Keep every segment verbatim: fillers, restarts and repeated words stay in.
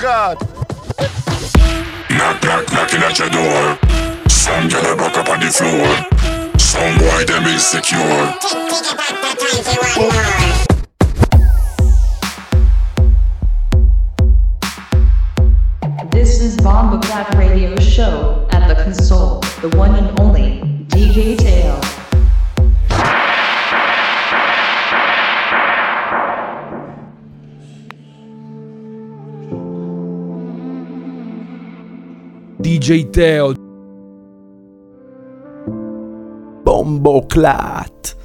God. Knock, knock, knocking at your door. Some girl a back up on the floor. Some boy them insecure. This is Bomba Clap Radio Show at the console, the one and only D J Teo. D J Teo. Bomboclat.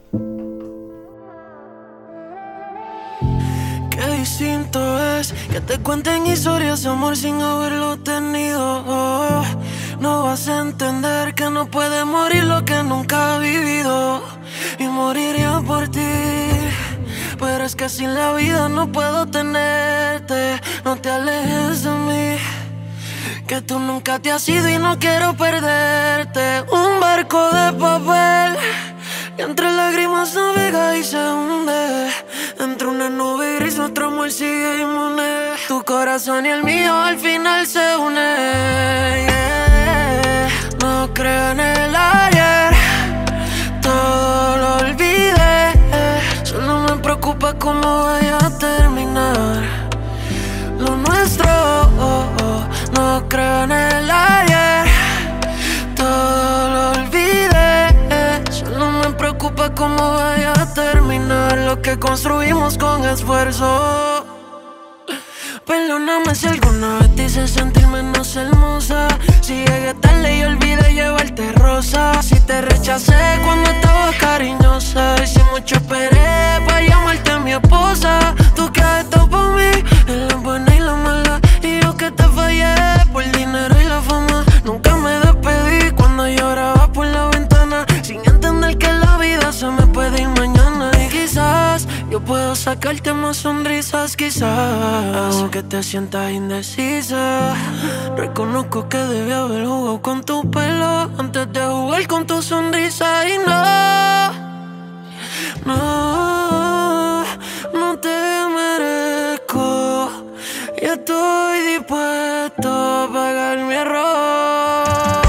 Qué distinto es que te cuenten historias de amor sin haberlo tenido. No vas a entender que no puede morir lo que nunca ha vivido. Y moriría por ti. Pero es que sin la vida no puedo tenerte. No te alejes de mí, que tú nunca te has ido y no quiero perderte. Un barco de papel que entre lágrimas navega y se hunde. Entre una nube gris nuestro amor sigue inmune. Tu corazón y el mío al final se unen. Yeah. No creo en el ayer, todo lo olvidé. Solo me preocupa cómo vaya a terminar lo nuestro. Oh, oh. No creo en el ayer, todo lo olvidé. Solo me preocupa cómo vaya a terminar lo que construimos con esfuerzo. Perdóname si alguna vez te hice sentir menos hermosa. Si llegué tarde y olvidé llevarte rosa. Si te rechacé cuando estabas cariñosa. Y si mucho esperé para llamarte mi esposa. Tú que has estado por mí en la buena y la mala. Y yo que te fallé por el dinero y la fama. Nunca me despedí cuando lloraba por la ventana, sin entender que la vida se me puede ir mañana. Y quizás yo puedo sacarte más sonrisas, quizás, aunque te sientas indecisa. Reconozco que debí haber jugado con tu pelo antes de jugar con tu sonrisa. Y no, no, no te merezco. Y estoy dispuesto a pagar mi error.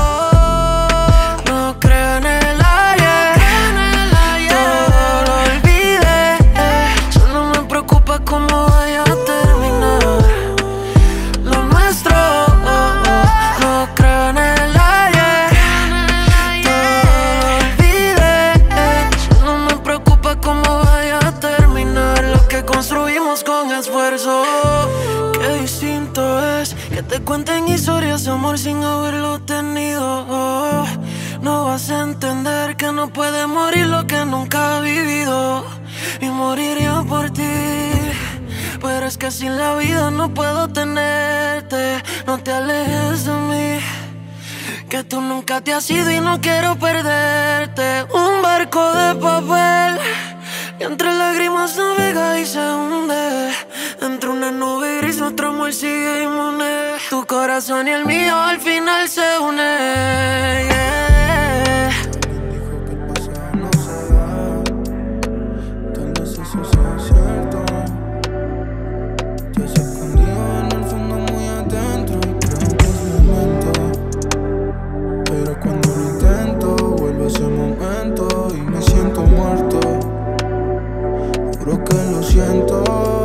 No creo en el ayer, todo lo olvidé. Solo me preocupa cómo vaya a terminar lo nuestro. No creo en el ayer, todo lo olvidé. Solo me preocupa cómo vaya a terminar lo que construimos con esfuerzo. Qué distinto es que te cuenten historias de amor sin haberlo tenido. No vas a entender que no puede morir lo que nunca ha vivido. Y moriría por ti. Pero es que sin la vida no puedo tenerte. No te alejes de mí, que tú nunca te has ido y no quiero perderte. Un barco de papel que entre lágrimas navega y se hunde. Entre una nube gris nuestro amor sigue inmune. Tu corazón y el mío al final se unen. Yeah. Dijo que el pasado no se va. Tal vez eso sea cierto. Te has escondido en el fondo muy adentro y creo que es momento. Pero cuando lo intento vuelve ese momento y me siento muerto. Juro que lo siento.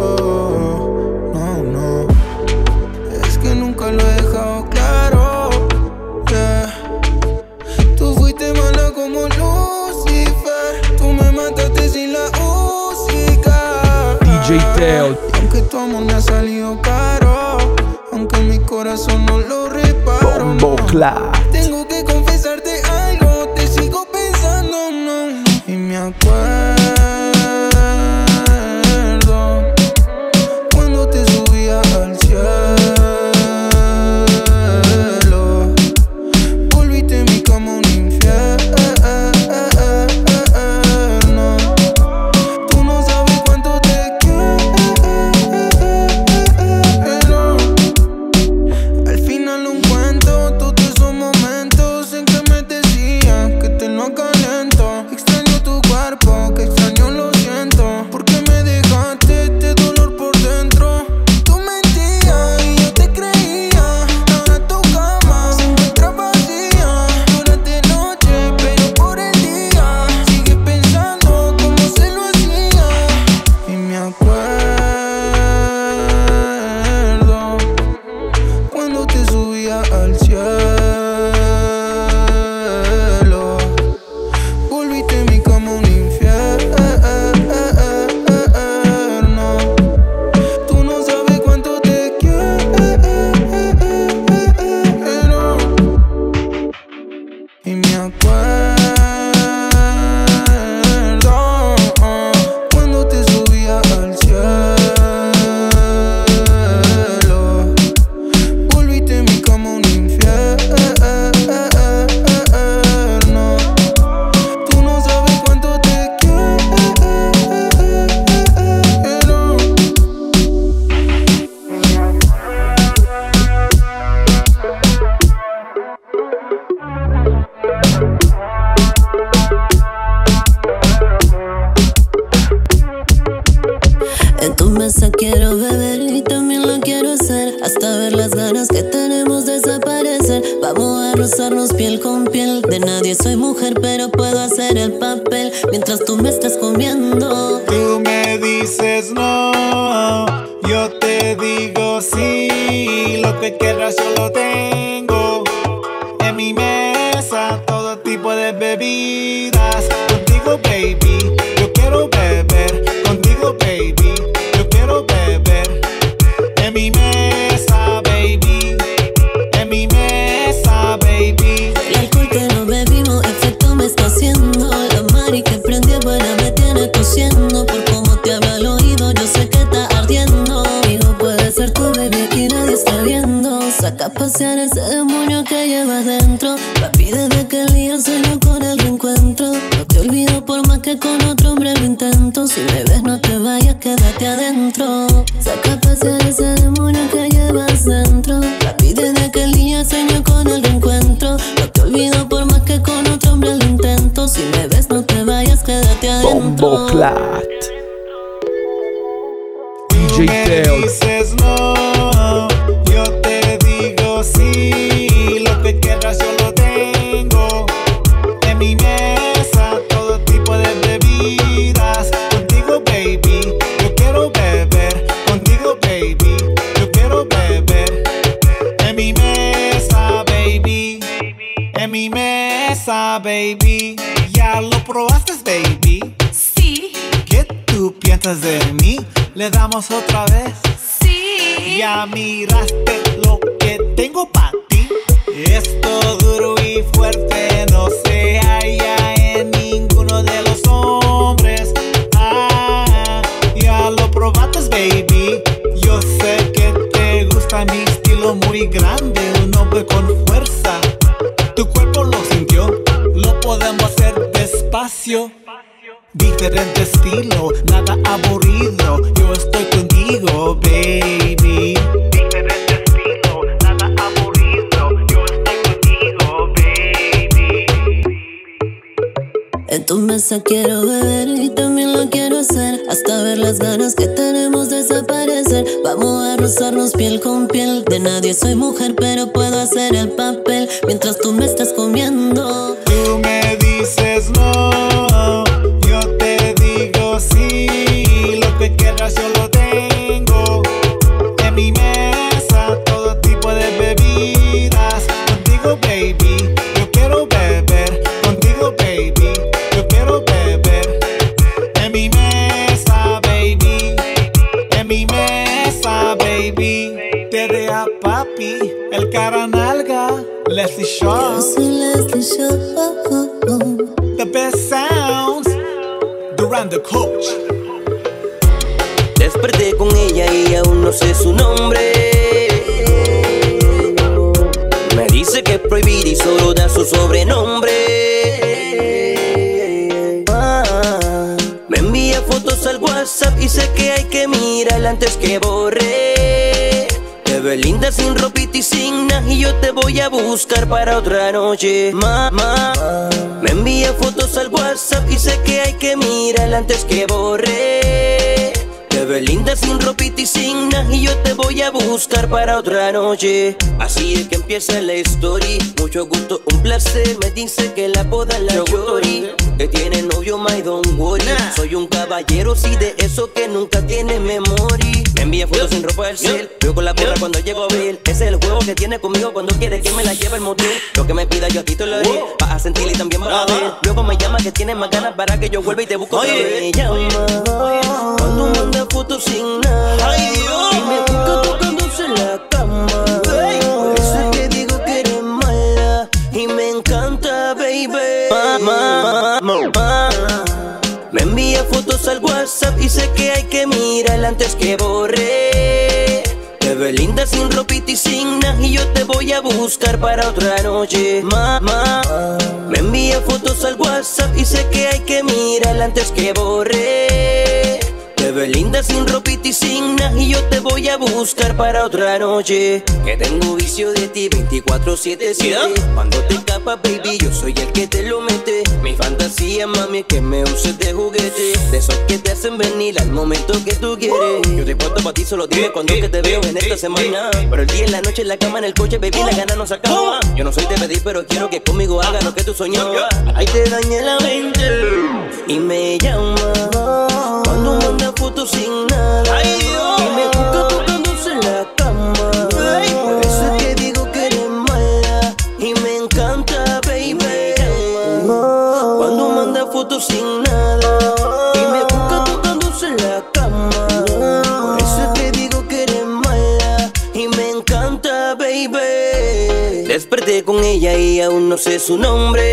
No, no, es que nunca lo he dejado claro. Yeah. Tú fuiste mala como Lucifer. Tú me mataste sin la música. D J Teo. Aunque tu amor me ha salido caro, aunque mi corazón no lo reparo. Bomboclat. Tengo que confesarte algo, te sigo pensando, no, no. Y me acuerdo cuando te subía al cielo. Volviste mi cama un infierno. Tú no sabes cuánto te quiero. Al final un cuento, todos esos momentos. Vamos a rozarnos piel con piel. De nadie soy mujer, pero puedo hacer el papel mientras tú me estás comiendo. Tú me dices no, yo te digo sí. Lo que quieras yo lo tengo en mi mesa, todo tipo de bebidas. Contigo, baby, yo quiero beber. Contigo, baby, yo quiero beber. En mi mesa, baby. En mi mesa, baby. El alcohol que no bebimos, efecto me está haciendo. La mari que prendí buena me tiene tosiendo. Por cómo te habla al oído, yo sé que está ardiendo. Hijo, puede ser tu baby, aquí nadie está viendo. Saca a pasear ese demonio que llevas dentro. Papi, desde que el día sueño con el reencuentro. No te olvido por más que con otro hombre lo intento. Si me ves no te vayas, quédate adentro. Saca a pasear ese demonio que llevas dentro. Papi, desde que el día sueño con el reencuentro. No te olvido por más que con otro hombre lo intento. Si me ves no te vayas, quédate adentro. Bomboclat. Tú D J me Teo. dices no, yo te digo sí. Lo que quieras yo lo tengo en mi mesa, todo tipo de bebidas. Contigo, baby, yo quiero beber. Contigo, baby, yo quiero beber. En mi mesa, baby. En mi mesa, baby. ¿Ya lo probaste, baby? Sí, ¿Qué tú piensas de mí? ¿Le damos otra vez? sí. Ya miraste lo que tengo para ti. Esto duro y fuerte no se halla en ninguno de los hombres. Ah, ya lo probaste, baby. Yo sé que te gusta mi estilo muy grande, un hombre con fuerza. Tu cuerpo lo sintió, lo podemos hacer despacio. Diferente estilo, nada aburrido. Yo estoy contigo, baby. Diferente estilo, nada aburrido. Yo estoy contigo, baby. En tu mesa quiero beber y también lo quiero hacer, hasta ver las ganas que tenemos desaparecer. Vamos a rozarnos piel con piel. De nadie soy mujer, pero puedo hacer el papel mientras tú me estás comiendo. Tú me dices no, yo te digo sí. Lo que quieras yo lo tengo en mi mesa, todo tipo de bebidas. Contigo, baby, yo quiero beber. Contigo, baby, yo quiero beber. En mi mesa, baby. En mi mesa, baby. Terea papi, el cara nalga, Leslie Shaw. Yo soy Leslie Shaw. The best sounds, Duran the Coach. Desperté con ella y aún no sé su nombre. Me dice que es prohibido y solo da su sobrenombre. Ah, me envía fotos al WhatsApp y sé que hay que mirarla antes que borre. Te ves linda sin ropita y sin nada y yo te voy a buscar para otra noche. Mamá, me envía fotos al WhatsApp y sé que hay que mirarla antes que borre. Te ves linda sin ropita y sin nada y yo te voy a buscar para otra noche. Así es que empieza la story. Mucho gusto, un placer. Me dice que la boda la Yori, que tiene novio, my don't worry. Soy un caballero, sí, de eso que nunca tiene memoria. Me envía fotos sin ropa del cel. Yo con la porra cuando llego a ver. Ese es el juego que tiene conmigo cuando quiere que me la lleve al motel. Lo que me pida yo a ti te lo haré. Vas a sentir y también vas a ver. Luego me llama que tienes más ganas para que yo vuelva y te busco otra vez. Me llama cuando manda fotos sin nada. Y me busca tocándose la cama. Por eso es que digo que eres mala y me encanta, baby. Mamá, mamá. Me envía fotos al WhatsApp y sé que hay que mirarla antes que borre. Te ves linda sin ropita y sin nada y yo te voy a buscar para otra noche. Mamá, me envía fotos al WhatsApp y sé que hay que mirarla antes que borre. Te ves linda sin ropita y sin nada y yo te voy a buscar para otra noche. Que tengo vicio de ti veinticuatro siete siete. Cuando te escapas, baby, yo soy el que te lo mete. Mi fantasía, mami, que me uses de juguete. De esos que te hacen venir al momento que tú quieres. Yo te cuento para ti, solo dime cuando que te veo en esta semana. Pero el día, en la noche, en la cama, en el coche, baby, la gana no se acaba. Yo no soy de pedir, pero quiero que conmigo hagas lo que tú soñabas. Ahí te dañé la mente y me llama cuando manda fotos sin nada. Y me busca tocándose en la cama. Por eso es que digo que eres mala y me encanta, baby. Cuando manda fotos sin nada y me busca tocándose en la cama. Por eso es que digo que eres mala y me encanta, baby. Desperté con ella y aún no sé su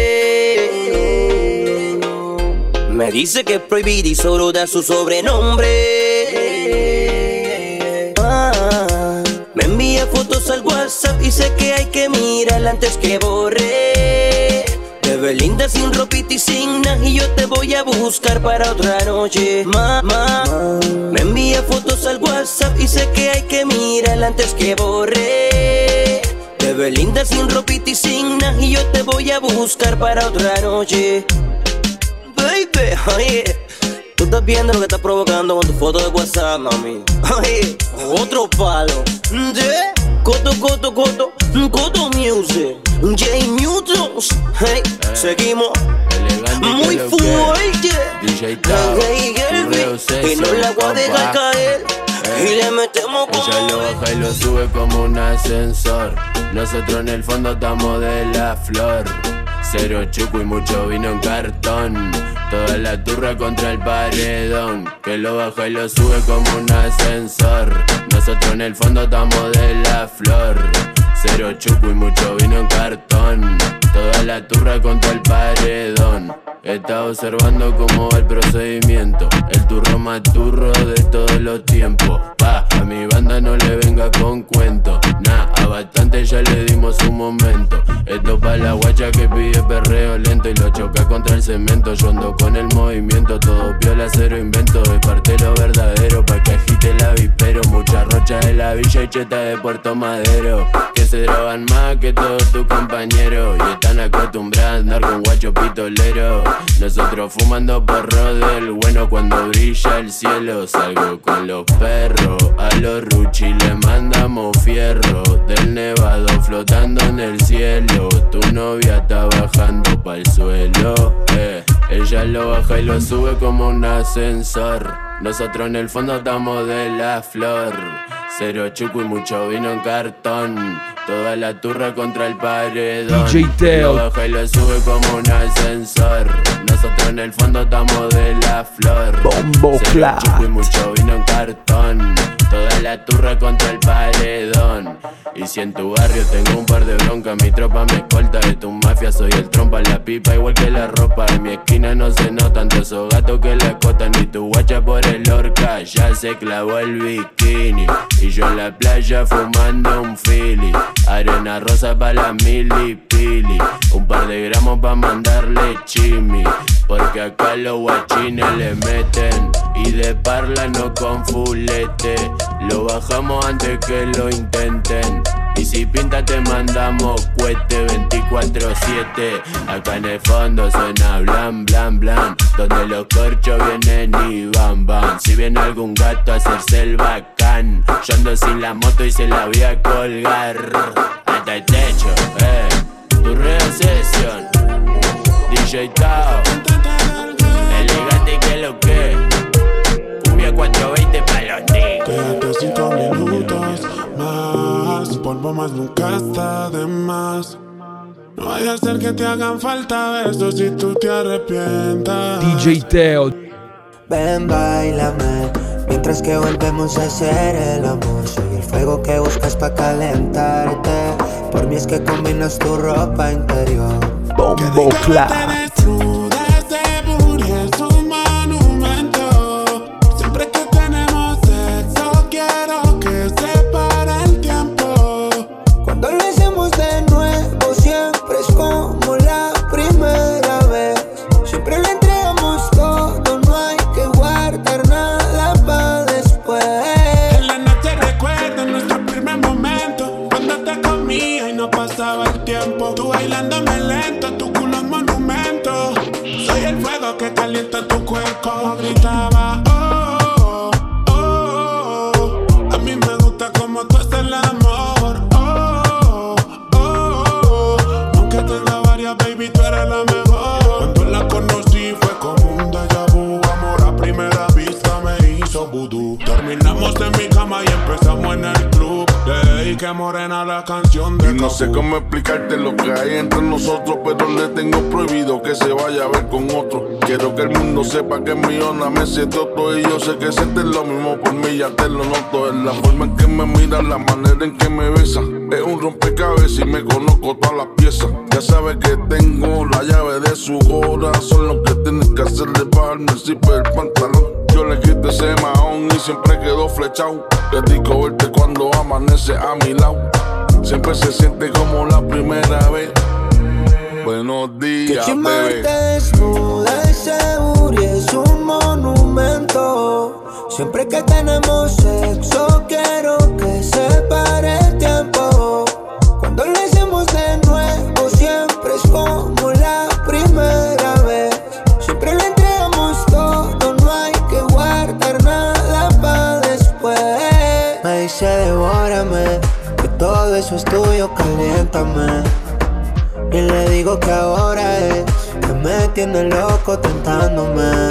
nombre. Me dice que es prohibida y solo da su sobrenombre. Ah, me envía fotos al WhatsApp y sé que hay que mirarla antes que borre. Te ves linda sin ropita y sin nada y yo te voy a buscar para otra noche. Mamá, me envía fotos al WhatsApp y sé que hay que mirarla antes que borre. Te ves linda sin ropita y sin nada y yo te voy a buscar para otra noche. Baby, oye, tú estás viendo lo que estás provocando con tu foto de WhatsApp, mami. Oye, otro palo. Yeah. Coto, coto, coto, coto music. J Mutos. Hey, eh, seguimos. Muy fuerte. D J Tao, hey, hey, hey, y no la voy a dejar caer. Y le metemos como ella lo baja y lo sube como un ascensor. Nosotros en el fondo estamos de la flor. Cero chuco y mucho vino en cartón. Toda la turra contra el paredón. Que lo baja y lo sube como un ascensor. Nosotros en el fondo estamos de la flor. Cero chuco y mucho vino en cartón. Toda la turra contra el paredón. Está observando cómo va el procedimiento. El turro más turro de todos los tiempos. Pa, a mi banda no le venga con cuento. Nah, a bastante ya le dimos un momento. Esto pa' la guacha que pide perreo lento y lo choca contra el cemento. Yo ando con el movimiento, todo piola, cero invento. Es parte lo verdadero pa' que agite el avispero. Mucha rocha de la villa y cheta de Puerto Madero. Que se drogan más que todos tus compañeros. Y están acostumbrados a andar con guacho pitolero. Nosotros fumando porro del bueno cuando brilla el cielo. Salgo con los perros, a los ruchi le mandamos fierro. Del nevado flotando en el cielo. Tu novia está bajando pa'l suelo, eh. Ella lo baja y lo sube como un ascensor. Nosotros en el fondo estamos de la flor. Cero chuco y mucho vino en cartón. Toda la turra contra el paredón. D J Teo. Lo baja y lo sube como un ascensor. Nosotros en el fondo estamos de la flor. Bombo Cero Clap. chuco y mucho vino en cartón. Toda la turra contra el paredón. Y si en tu barrio tengo un par de broncas, mi tropa me escolta. De tu mafia soy el trompa, la pipa igual que la ropa. En mi esquina no se notan todos esos gatos que la acotan. Ni tu guacha por el orca, ya se clavó el bikini. Y yo en la playa fumando un fili. Arena rosa pa' la mili pili. Un par de gramos pa' mandarle chimi. Porque acá los guachines le meten. Y de parla no con fulete. Lo bajamos antes que lo intenten. Y si pinta te mandamos cohete veinticuatro siete. Acá en el fondo suena blan, blan, blan. Donde los corchos vienen y van, van. Si viene algún gato a hacerse el bacán, yo ando sin la moto y se la voy a colgar hasta el techo, eh. Tu reobsesión, D J Tao, elegante que lo que. Cumbia cuatro veinte pa' los niños. Quédate cinco minutos más. Un polvo más nunca está de más. No vaya a ser que te hagan falta besos si tú te arrepientas. D J Teo. Ven, bailame, mientras que volvemos a hacer el amor. Soy el fuego que buscas pa' calentarte. Por mí es que combinas tu ropa interior. Bombo Clap. Tú bailándome lento, tu culo es monumento. Soy el fuego que calienta tu cuerpo. Gritaba, oh, oh, oh. A mí me gusta como tú haces el amor. Oh, oh, oh. que morena la canción de Y no sé cómo explicarte lo que hay entre nosotros, pero le tengo prohibido que se vaya a ver con otro. Quiero que el mundo sepa que es millona me siento todo. Y yo sé que sientes lo mismo por mí, ya te lo noto. Es la forma en que me mira, la manera en que me besa. Es un rompecabezas y me conozco todas las piezas. Ya sabes que tengo la llave de su corazón. Lo que tienes que hacer es bajarme el zipper del pantalón. Yo le quito ese mahón y siempre quedo flechado. Qué rico verte cuando amanece a mi lado. Siempre se siente como la primera vez. Buenos días, que bebé. Te desnuda y seguro y es un monumento. Siempre que tenemos sexo quiero que se pare el tiempo. Cuando lo hacemos de nuevo siempre es como la primera vez. Siempre lo entregamos todo, no hay que guardar nada para después. Me dice devórame, que todo eso es tuyo, caliéntame. Y le digo que ahora es que me tiene loco tentándome.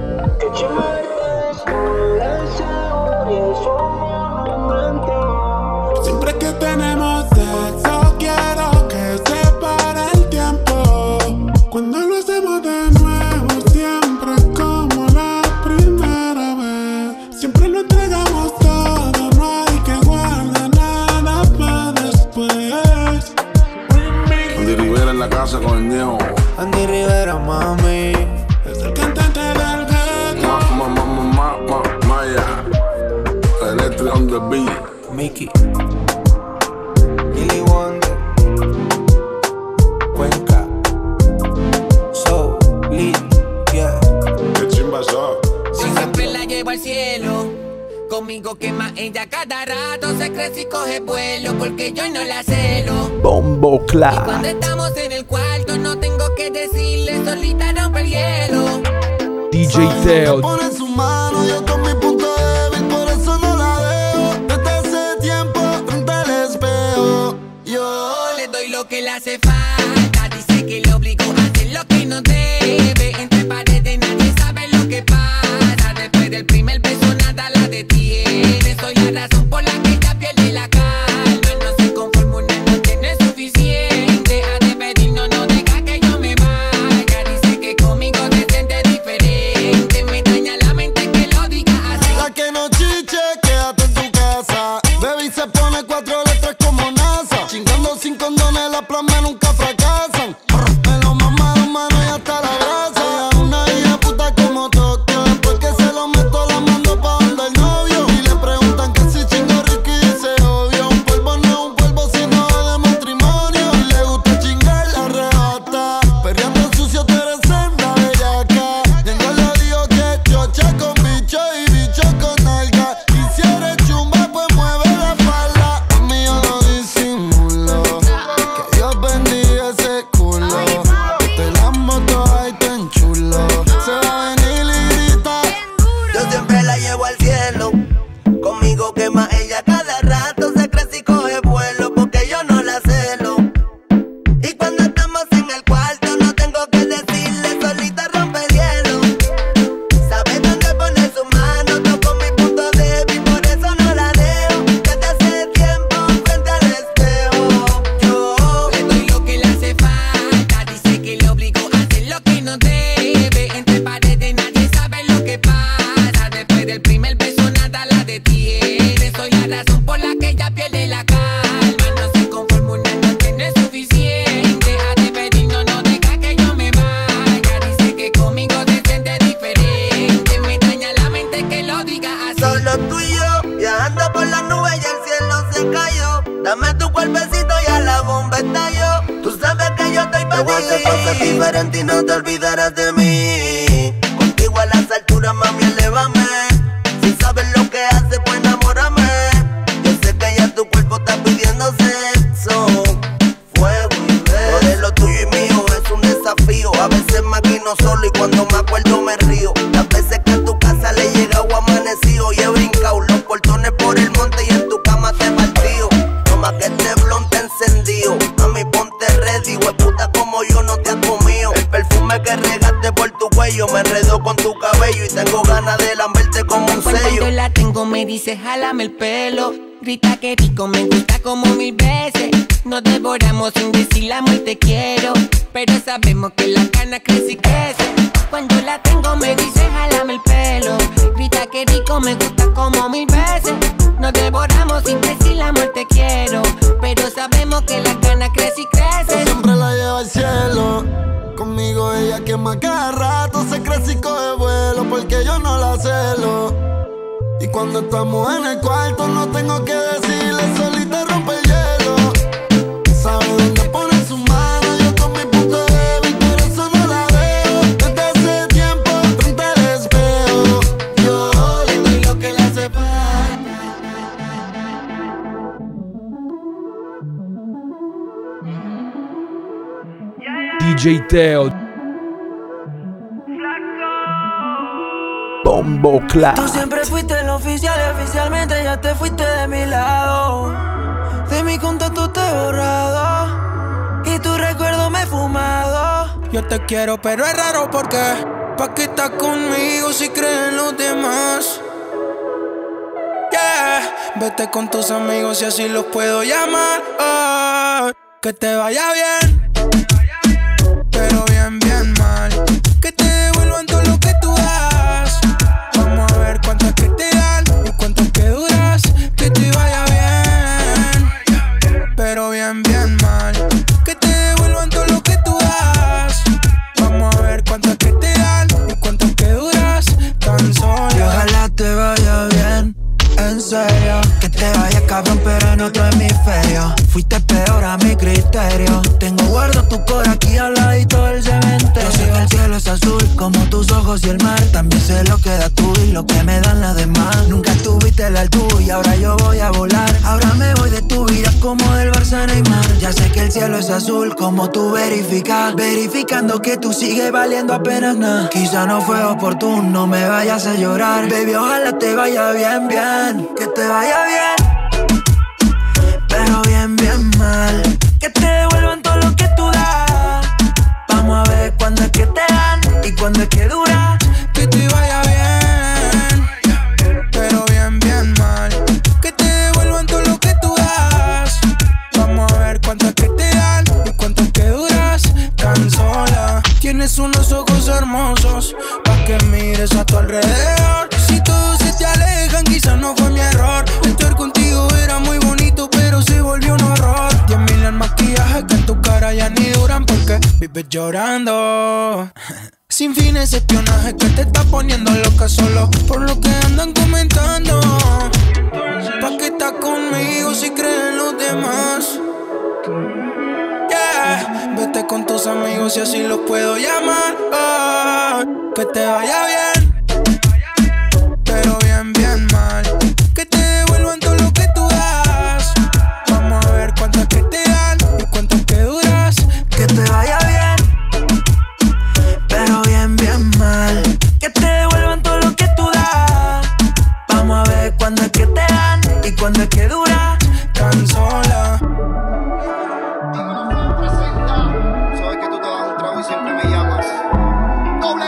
Siempre que tenemos sexo quiero que se pare el tiempo. Cuando lo hacemos de nuevo siempre es como la primera vez. Siempre lo entregamos todo, no hay que guardar nada para después. Andy Rivera en la casa con el Ñejo. Andy Rivera, mami. Es el cantante del ghetto. Ma, ma, ma, ma, ma, Maya. Electric on the beat. Mickey. Lily Wonder. Cuenca. So lit, yeah. Qué chimba eso. Si siempre la llevo al cielo. Conmigo quema ella cada rato. Se crece y coge vuelo porque yo no la celo. Bombo Clat. Y cuando estamos en el cuarto no tengo que decirle, solita rompe el hielo. D J Teo. Pone su mano, yo con mi punto débil, por eso no la dejo. Desde hace tiempo frente al espejo. Yo le doy lo que le hace falta. Dice que le obligo a hacer lo que no debe. Entre paredes nadie sabe lo que pasa. Después del primer beso nada la detiene. Soy la razón por la que ella pierde la calma. No se conforma, una noche no es suficiente. A despedir no, no deja que yo me vaya. Dice que conmigo se siente diferente. Me daña la mente que lo diga así. la que no chiche, quédate en tu casa. Baby se pone cuatro letras como NASA. Chingando sin condones, las plomas nunca fracasan. Me lo mamaron, mano, y hasta la grasa. Ella una hija puta como Tokio. Después que se lo meto, la mando pa' donde el novio. Y le preguntan que si chingo rico y dice obvio. Un polvo no es un polvo, sino de matrimonio. Y le gusta chingar, la arrebata. Perreando sucio, tú eres senda bellaca. Tengo lo digo que chocha con bicho y bicho con nalga. Y si eres chumba, pues mueve la falda. A mí yo no disimulo. Que Dios bendiga ese culo. Te la moto ahí tan chulo. Se va a venir y grita. Yo siempre la llevo al cielo. Conmigo quema ella cada rato. Se crece y coge vuelo porque yo no la celo. Y cuando estamos en el cuarto no tengo que decirle, solita rompe el hielo. Sabe dónde pone su mano, toco mi punto débil, por eso no la dejo. Desde hace tiempo frente al espejo. Yo le doy lo que le hace falta. Dice que le obligo a hacer lo que no debe. Entre paredes nadie sabe lo que pasa. Después del primer beso nada la detiene. Soy la razón por la que ella pierde la calma. No se conforma, una noche no es suficiente. A despedir no, no deja que yo me vaya. Dice que conmigo se siente diferente. Me daña la mente que lo diga así. solo tú y yo, viajando por las nubes y el cielo se cayó. Dame tu cuerpecito y a la bomba estalló. Tú sabes que yo estoy para ti. Te voy a hacer cosas diferentes y no te olvidarás de mí. Contigo a las alturas, mami, elévame. Si sabes lo que haces, pues enamórame. Yo sé que ya tu cuerpo está pidiendo sexo, fuego y beso. Lo de lo tuyo y mío es un desafío. A veces maquino solo y cuando me acuerdo me río. Las veces que a tu casa le he llegado amanecido y he brincado los portones por el monte y en tu cama te he partido. No más que este blon te encendido. Mami, ponte ready, hueputa como yo no te has comido. El perfume que regaste por tu cuello me enredó con tu cabello y tengo ganas de lamberte como un sello. Cuando la tengo me dice jálame el pelo. Grita que rico, me gusta como mil veces. Nos devoramos sin decir amor te quiero. Pero sabemos que la cana crece y crece. Cuando la tengo me dice jálame el pelo. Grita que rico, me gusta como mil veces. Nos devoramos sin decir amor te quiero. Pero sabemos que la cana crece y crece. Siempre la lleva al cielo. Conmigo ella quema cada rato. Se crece y coge vuelo porque yo no la celo. Y cuando estamos en el cuarto no tengo que decirle, solita rompe el hielo. Sabe dónde pone su mano, yo con mi punto débil, por eso no la veo. Desde hace tiempo frente al espejo, yo le doy lo que le hace falta. D J Teo. Bombo Clap. Tú siempre fuiste el oficial y oficialmente ya te fuiste de mi lado. De mi contacto te he borrado y tu recuerdo me he fumado. Yo te quiero pero es raro porque ¿pa' qué estás conmigo si crees en los demás? Yeah. Vete con tus amigos y así los puedo llamar. Oh, que te vaya bien, pero bien, bien mal. Que te devuelvan todo lo que tú das. Vamos a ver cuánto es que te dan y cuánto es que duras. Que te vaya bien, pero bien, bien mal. Que te devuelvan todo lo que tú das. Vamos a ver cuánto es que te dan y cuánto es que duras tan sola. Y ojalá te vaya bien, en serio. Que te vaya cabrón pero en otro hemisferio. Fuiste peor a mi criterio. Tengo guardo tu cor aquí al ladito del cementerio. Yo sé que el cielo es azul como tus ojos y el mar. También sé lo que da tú y lo que me dan las demás. Nunca tuviste la altura y ahora yo voy a volar. Ahora me voy de tu vida como del Barça Neymar. Ya sé que el cielo es azul como tú verificas. Verificando que tú sigues valiendo apenas nada. Quizá no fue oportuno, me vayas a llorar. Baby, ojalá te vaya bien, bien. Que te vaya bien, pero bien, bien mal. Que te devuelvan todo lo que tú das. Vamos a ver cuándo es que te dan y cuándo es que dura. Que te vaya bien, pero bien, bien mal. Que te devuelvan todo lo que tú das. Vamos a ver cuánto es que te dan y cuánto es que duras tan sola. Tienes unos ojos hermosos pa' que mires a tu alrededor. Si todos se te alejan quizás no fue mi error. Estar contigo era muy bonito pero se volvió un horror. Diez mil en maquillaje que en tu cara ya ni duran porque vives llorando. Sin fines de espionaje que te está poniendo loca solo por lo que andan comentando. ¿Pa' qué estás conmigo si creen los demás? Yeah. Vete con tus amigos y así los puedo llamar. Oh, que te vaya bien, pero bien, bien mal. Que te devuelvan todo lo que tú das. Vamos a ver cuánto es que te dan y cuánto es que duras. Que te vaya bien, pero bien, bien mal. Que te devuelvan todo lo que tú das. Vamos a ver cuándo es que te dan y cuándo es que dura. Tan sola. Sabes que tú te das un trago y siempre me llamas. Doble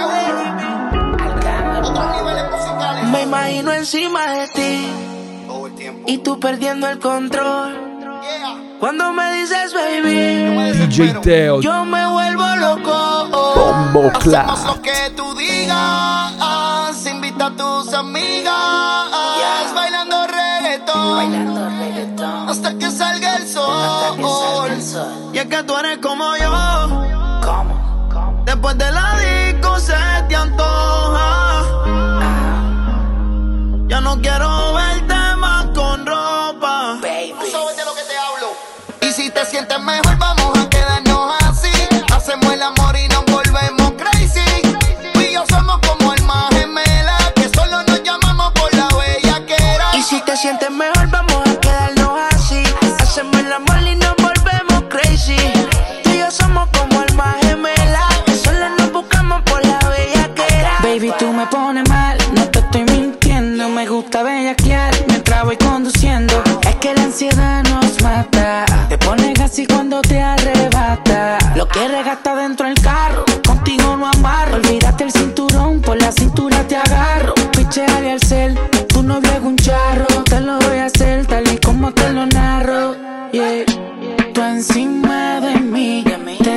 otros niveles musicales. Me imagino encima de ti todo el tiempo y tú perdiendo el control. Yeah. Cuando me dices baby, D J Teo. yo me vuelvo loco. Bombo Clap. Hacemos lo que tú digas. Invita a tus amigas. Yeah. Bailando reggaetón. Bailando reggaetón Hasta que salga el sol. hasta que salga el sol. Y es que tú eres como yo. ¿Cómo? ¿Cómo? Después de la disco se te antoja. Ya no quiero verte más con ropa. Baby. Tú sabes de lo que te hablo. Y si te sientes mejor, vamos a quedarnos así. Hacemos el amor y nos volvemos crazy. Tú y yo somos como almas gemelas, que solo nos llamamos por la bellaquera. Y si te sientes mejor, vamos a quedarnos así. Hacemos el amor y nos volvemos crazy. Tú y yo somos como almas gemelas, que solo nos buscamos por la bellaquera. Baby, tú me pones mal, no te estoy mintiendo. Me gusta bellaquear mientras voy conduciendo. Es que la ansiedad nos mata. Te pones así cuando te arrebata. Lo quieres gastar dentro del carro, contigo no amarro. Olvídate el cinturón, por la cintura te agarro. Picheale al cel, tú no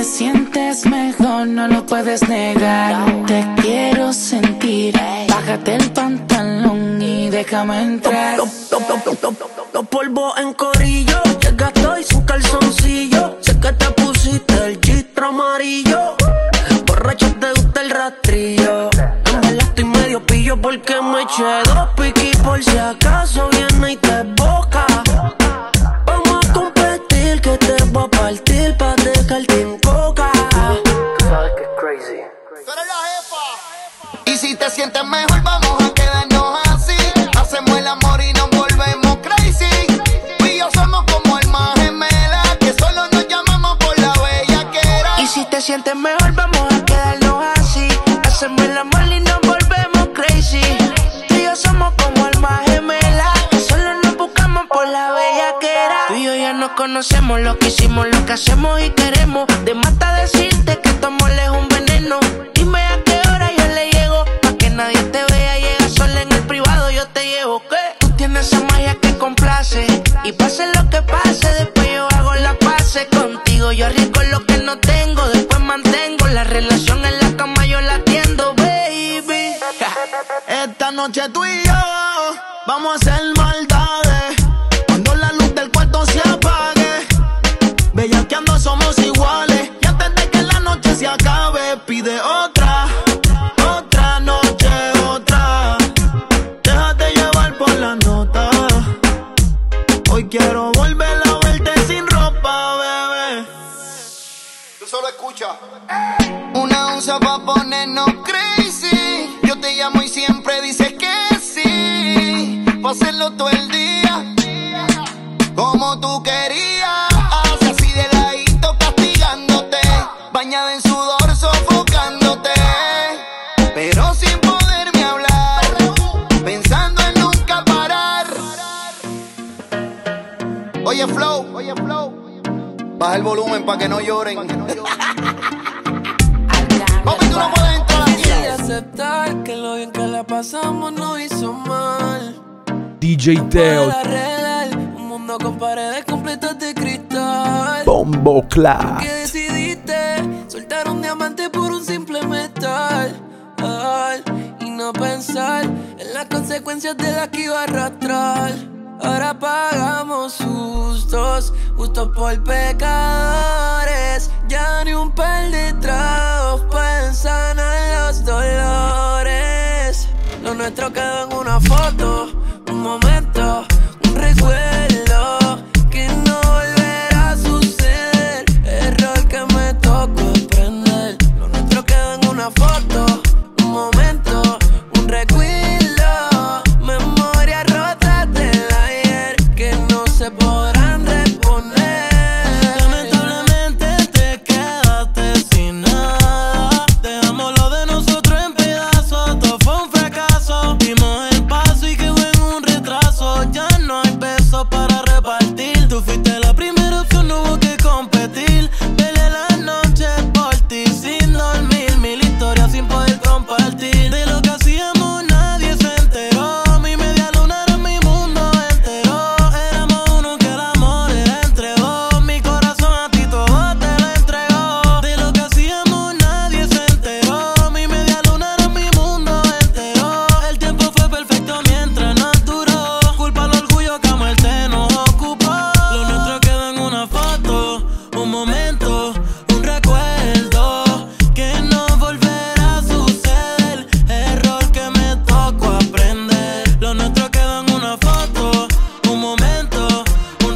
sientes mejor, no lo puedes negar. Te quiero sentir, bájate el pantalón y déjame entrar. Los polvos en corillo, llegaste hoy sin calzoncillo. Sé que te pusiste el chistro amarillo. Borracho te gusta el rastrillo. En verdad estoy medio pillo porque me eché dos piquis por si acaso viene y te boca. Vamos a competir que te voy a partir pa' dejarte en coca. Sabes que es crazy. Tú eres la jefa. Y si te sientes mejor vamos a quedarnos así. Hacemos el amor y nos volvemos crazy. Tú y yo somos como almas gemelas que solo nos llamamos por la bellaquera. Y si te sientes mejor vamos a quedarnos así. Hacemos el amor y nos volvemos crazy. Tú y yo somos como almas gemelas que solo nos buscamos por la bellaquera. Tú y yo ya nos conocemos, lo que hicimos, lo que hacemos y queremos. De más está decirte que tu amor es un veneno. Dime a qué hora yo le llego, pa' que nadie te vea. Llega sola en el privado, yo te llevo. ¿Qué? Tú tienes esa magia que complace. Y pase lo que pase, después yo hago la pase contigo. Yo arriesgo lo que no tengo, después mantengo la relación en la cama, yo la atiendo, baby. Esta noche tú y yo vamos a hacer maldades. Cuando la luz del cuarto se apague, bellaqueando somos iguales. Y antes de que la noche se acabe, pide otra, otra noche, otra. Déjate llevar por la nota. Hoy quiero volver a verte sin ropa, bebé. Tú solo escucha. Una onza pa' ponernos crazy. Yo te llamo y siempre dices que sí. Pa' hacerlo todo el día como tú querías. Así de ladito castigándote, bañada en sudor sofocándote, pero sin poderme hablar, pensando en nunca parar. Oye Flow, oye Flow, baja el volumen pa' que no lloren. Papi, tú no puedes entrar aquí. Y aceptar que lo bien que la pasamos no hizo mal. D J Teo, Un mundo con paredes completas de cristal. Bombo Clat. Que decidiste soltar un diamante por un simple metal. Ay, y no pensar en las consecuencias de las que iba a arrastrar. Ahora pagamos sustos, justos por pecadores. Ya ni un par de tragos pueden sanar los dolores. Lo nuestro quedó en una foto, un momento, un recuerdo que no volverá a suceder. Error que me tocó aprender. Lo nuestro quedó en una foto, un momento, un recuerdo. Memorias rotas del ayer que no se podrán reponer. Lamentablemente te quedaste sin nada. Dejamos lo de nosotros en pedazos. Todo fue un fracaso. Dimos el paso y quedó en un retraso. Ya no hay pesos para repartir. Tú fuiste la primera opción, no hubo que competir. Peleé la noche por ti sin dormir. Mil historias sin poder compartir. De lo que hacíamos nadie se enteró. Mi media luna era mi mundo entero. Éramos uno que el amor era entre dos. Mi corazón a ti todo te lo entregó. De lo que hacíamos nadie se enteró. Mi media luna era mi mundo entero. El tiempo fue perfecto mientras nos duró. Culpa al orgullo que a muerte nos ocupó. Lo nuestro quedó en una foto, un momento, un recuerdo que no volverá a suceder. Error que me tocó aprender. Lo nuestro quedó en una foto, un momento, un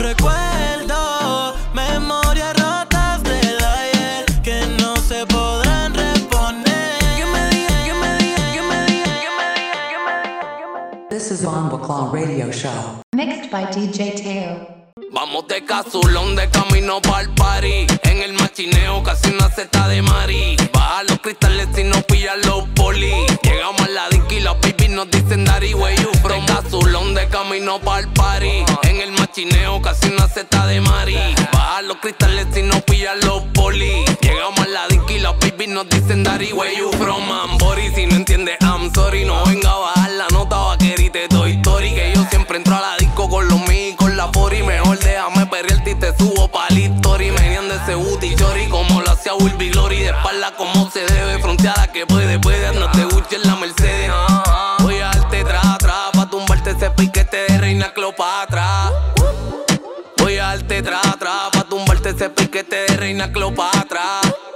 recuerdo. Memorias rotas del ayer que no se podrán reponer. Que me digan, que me digan, que me digan, que me digan, que me digan, que me digan. This is Bombo Claw Radio Show. Mixed by D J Teo. Vamos de casulón de camino pa'l party. En el machineo casi una seta de mari. Baja los cristales y nos pillan los polis. Llegamos a la disco y los babies nos dicen Daddy, where you from? De casulón de camino pa'l party. En el machineo casi una seta de mari. Baja los cristales y nos pillan los polis. Llegamos a la disco y los babies nos dicen Daddy, where you from? Ambori, si no entiendes, I'm sorry. No venga a bajar la nota vaquerita de Toy Story. Que yo siempre entro a la disco con los míos y con la fori. Mejor déjame perrearte y te subo pa'l history. Venían de ese booty chori como lo hacía Wilby Glory, de espalda como se debe, fronteada que puede, puede, no te Gucci en la Mercedes. Voy a darte tra, tra, pa' tumbarte ese piquete de Reina Cleopatra. Voy a darte tra, tra, pa' tumbarte ese piquete de Reina Cleopatra.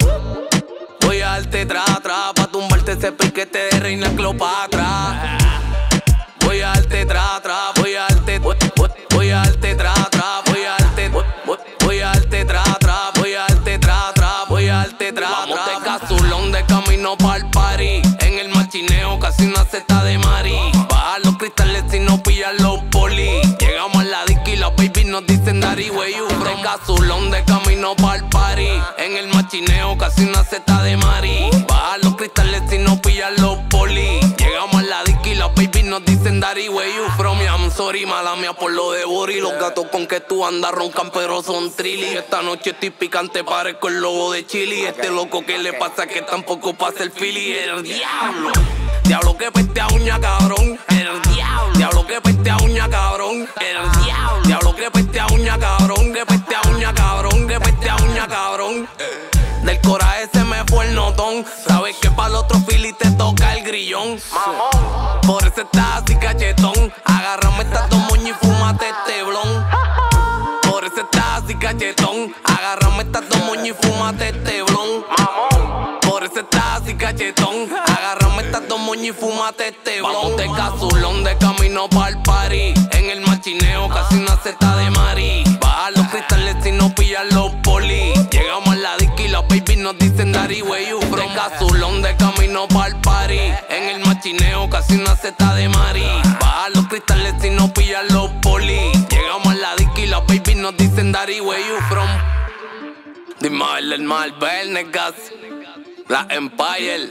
Voy a darte tra, tra, pa' tumbarte ese piquete de Reina Cleopatra. Voy a darte tra, tra, voy a darte, voy, voy, voy a darte tra, tra, voy a darte, voy, voy, voy a darte tra, tra, voy a darte tra, tra, voy a darte tra, tra. Vamos de Casulón de camino pa'l party, en el machineo casi una seta de mari. Baja los cristales si no pillan los poli. Llegamos a la disco y las baby nos dicen Dari, where you from? De Casulón de camino pa'l party, en el machineo casi una seta de mari. Baja los cristales si no pillan los poli. Llegamos a la disco y las baby nos dicen Dari, where you from? I'm sorry, mala mía por lo de Bori. Los gatos con que tú andas roncan pero son trilly. Esta noche estoy picante, parezco el lobo de Chili. Este loco que le pasa que tampoco pasa el Philly. El diablo, diablo que peste a uña cabrón. El diablo, diablo que peste a uña cabrón. El diablo, diablo que peste a uña cabrón. Que peste a uña cabrón, que peste a uña cabrón. Del coraje se me fue el notón. Sabes que para el otro Philly te toca el grillón. Mamón, por eso estás así cachetón. Agárrame estas dos moñas y fúmate este blon. Por eso estás así cachetón. Agárrame estas dos moñas y fúmate este blon. Mamón, por eso estás así cachetón. Agárrame estas dos moñas y fúmate este blon. Vamos de Casulón de camino pa'l party, en el machineo casi una seta de mari. Baja los cristales si no pillan los poli. Llegamos a la disco y las baby nos dicen Dari, where you from? De Casulón de camino pa'l party, en el machineo casi una seta de mari. Baja los cristales si no pillan los poli. Llegamos a la disco y las baby nos dicen Dari, where you from? Dime el Marvel, negas. La Empire,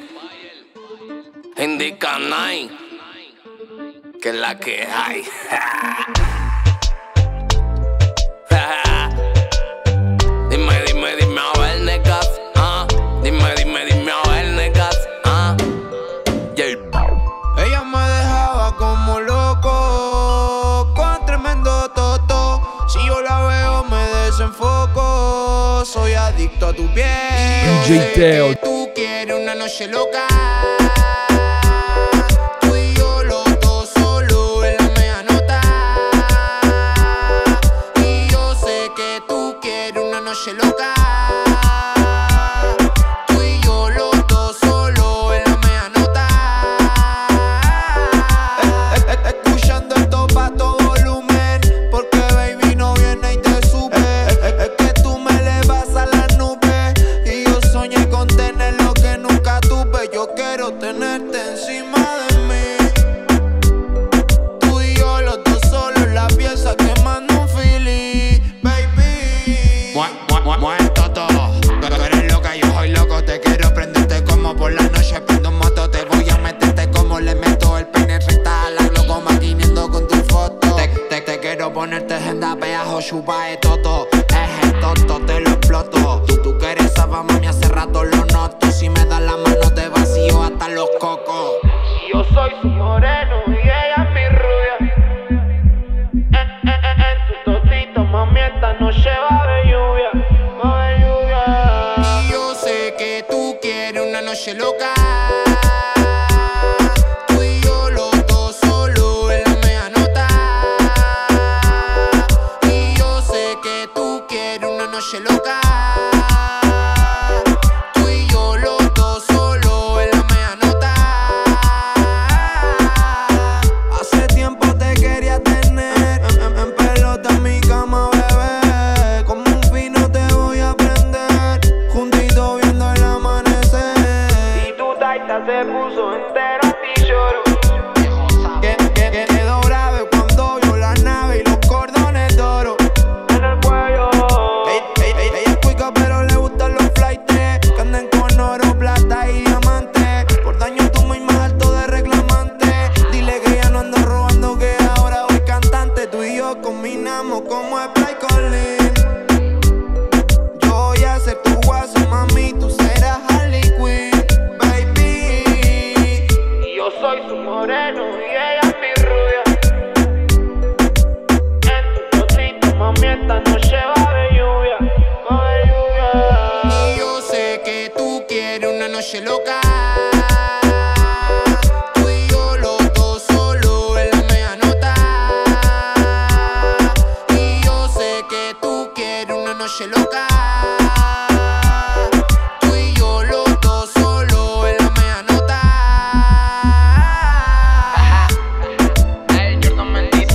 Indica Nine, que es la que hay. Dime, dime, dime a ver, negas. Ah, dime, dime, dime a ver, negas. Ah, yeah. Ella me dejaba como loco, con tremendo toto. Si yo la veo me desenfoco. Soy adicto a tu piel. D J Teo. Tú quieres una noche loca. Loca, tú y yo los dos solo en la media nota. Eh, eh, eh, escuchando esto pa' todo volumen, porque baby no viene y te sube. Eh, eh, es que tú me elevas a la nube y yo soñé con tener lo que nunca tuve. Yo quiero tenerte encima de mí. Tú y yo los dos solo en la pieza quemando un Philly, baby. Muerto todo, tú eres loca, yo soy loco. Te quiero prenderte como por la noche prendo un moto. Te voy a meterte como le meto el peine recta a la gloco maquiniendo con tu foto. Te, te, te quiero ponerte agenda, peajo, chupa de toto. Es el toto, te lo exploto. Tú, tú que eres esa mami, hace rato lo noto. Si me das la mano te vacío hasta los cocos. Yo soy su moreno y ella es mi rubia. Eh, eh, eh, en tu totito, mami, esta noche va a haber lluvia. Noche loca, tú y yo los dos solo en la media nota. Y yo sé que tú quieres una noche loca. Tú y yo los dos solo en la media nota. Hace tiempo te quería tener en, en, en pelota en mi cama, bebé. Como un vino te voy a prender, juntito viendo el amanecer. Se puso entero a ti lloro. Que, que, que quedó grave cuando vio la nave y los cordones de oro en el cuello. Ella, ella, ella es cuica pero le gustan los flightes que anden con oro, plata y diamante. Por daño tú muy más alto de reclamante. Dile que ya no ando robando, que ahora voy cantante. Tú y yo combinamos como Sprite con Lean. Yo voy a ser tu guaso, mami, tú serás Harley Quinn. Soy su noche loca. Tú y yo los dos solo en la media nota. Y yo sé que tú quieres una noche loca. Tú y yo los dos solo en la media nota. El Jordan Mendy,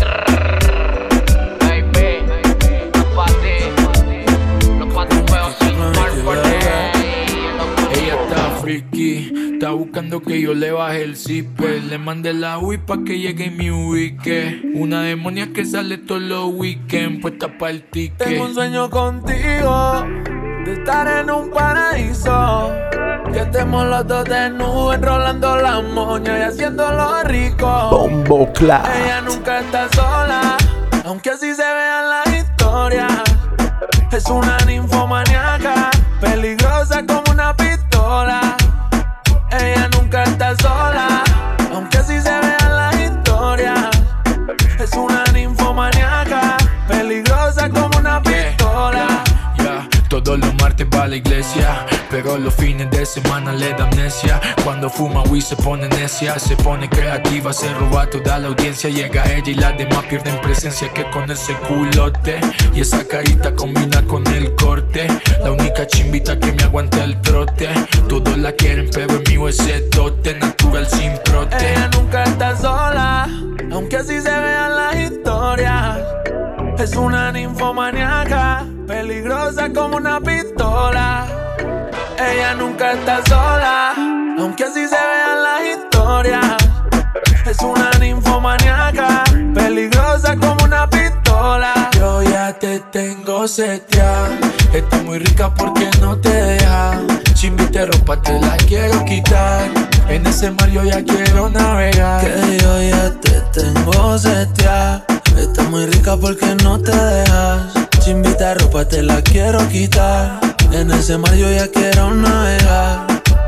baby, los patis, los patis feos sin marco. Ella está freaky, está buscando que yo le baje el zipper. Le mandé la Wii pa' que llegue y me ubique. Una demonia que sale todos los weekends, puesta pa' el ticket. Tengo un sueñño contigo, de estar en un paraíso. Que estemos los dos desnudos, enrolando la moña y haciéndolo rico. Bombo Clap. Ella nunca está sola, aunque así se vean las historias. Es una ninfomaníaca, peligrosa como una pistola. Ella nunca está sola, aunque así se vean las historias. Es una ninfomaníaca, peligrosa como una pistola. Yeah, yeah. Todos los martes va a la iglesia, pero los fines de semana le da amnesia. Cuando fuma weed se pone necia, se pone creativa, se roba toda la audiencia. Llega ella y las demás pierden presencia, que con ese culote y esa carita combina con el corte. La única chimbita que me aguanta el trote. Todos la quieren pero es mío ese tote, natural sin prote. Ella nunca está sola, aunque así se vean las historias. Es una ninfomaníaca, peligrosa como una pistola. Ella nunca está sola, aunque así se vean las historias. Es una ninfomaníaca, peligrosa como una pistola. Yo ya te tengo seteada, está muy rica porque no te deja. Chimbite ropa te la quiero quitar, en ese mar yo ya quiero navegar. Que yo ya te tengo seteada, está muy rica porque no te dejas. Chimbita ropa te la quiero quitar, en ese mar yo ya quiero navegar.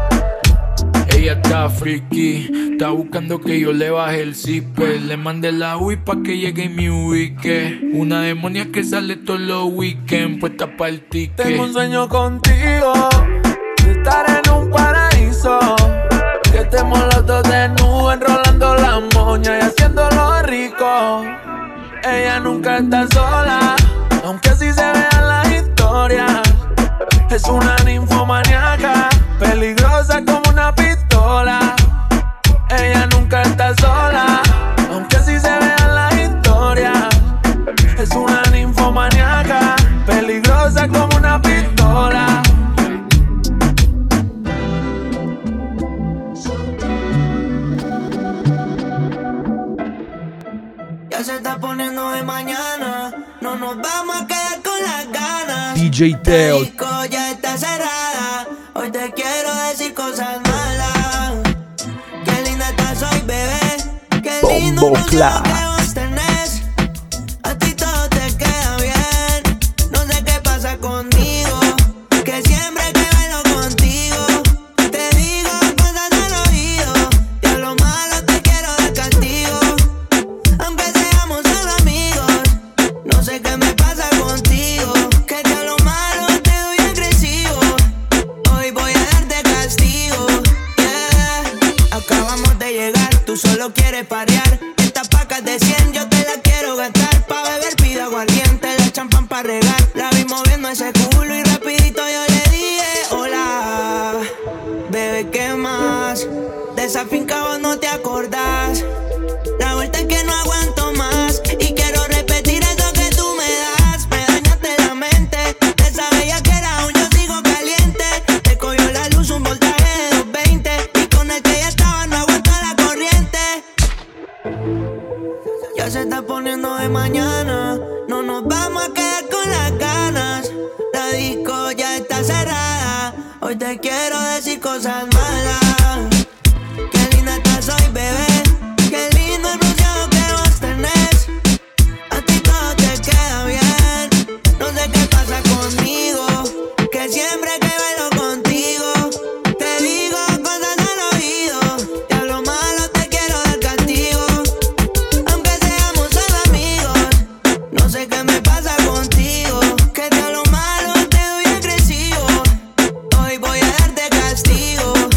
Ella está freaky, está buscando que yo le baje el zipper. Le mandé la Wii pa' que llegue y me ubique. Una demonia que sale todos los weekends, puesta pa' el ticket. Tengo un sueño contigo, de estar en un paraíso. Que estemos los dos desnudos, enrolando la moña y haciéndolo rico. Ella nunca está sola, aunque así se vean las historias. Es una ninfomaníaca, peligrosa como una pistola. Ella nunca está sola, aunque así se vean las historias. Es una ninfomaníaca, peligrosa como una pistola. Ya se está poniendo de mañana, no nos vamos a quedar con las ganas. D J Teo. La disco ya está cerrada, hoy te quiero decir cosas malas. Qué linda estás hoy, bebé, qué lindo Bombo el Clap. que vos tenés. A ti todo te queda bien, no sé qué pasa conmigo, que siempre que bailo contigo te digo cosas al oído, y a lo malo te quiero de castigo. Aunque seamos solo amigos, no sé qué me pasa contigo, que de lo malo te doy agresivo. Hoy voy a darte castigo, yeah. Acabamos de llegar, tú solo quieres parear. Estas pacas de cien yo te las quiero gastar. Pa' beber pido aguardiente, la champán pa' regar. La vi moviendo ese culo y rapidito yo le dije hola. Bebé, ¿qué más? De esa finca vos no te acordás. La vuelta es que no aguanto más y quiero repetir eso que tú me das. Me dañaste la mente, de esa bella que era aún yo sigo caliente. Te cogió la luz un voltaje de doscientos veinte y con el que ya estaba no aguanta la corriente. Ya se está poniendo de mañana, no nos vamos a quedar con las ganas. La disco ya está cerrada, hoy te quiero decir cosas malas. Qué linda estás hoy, bebé, qué lindo el bronceado que vos tenés. A ti todo te queda bien, no sé qué pasa conmigo, que siempre que bailo contigo te digo cosas al oído, y a lo malo te quiero dar castigo. Aunque seamos solo amigos, no sé qué me pasa contigo, que de lo malo te doy agresivo. Hoy voy a darte castigo.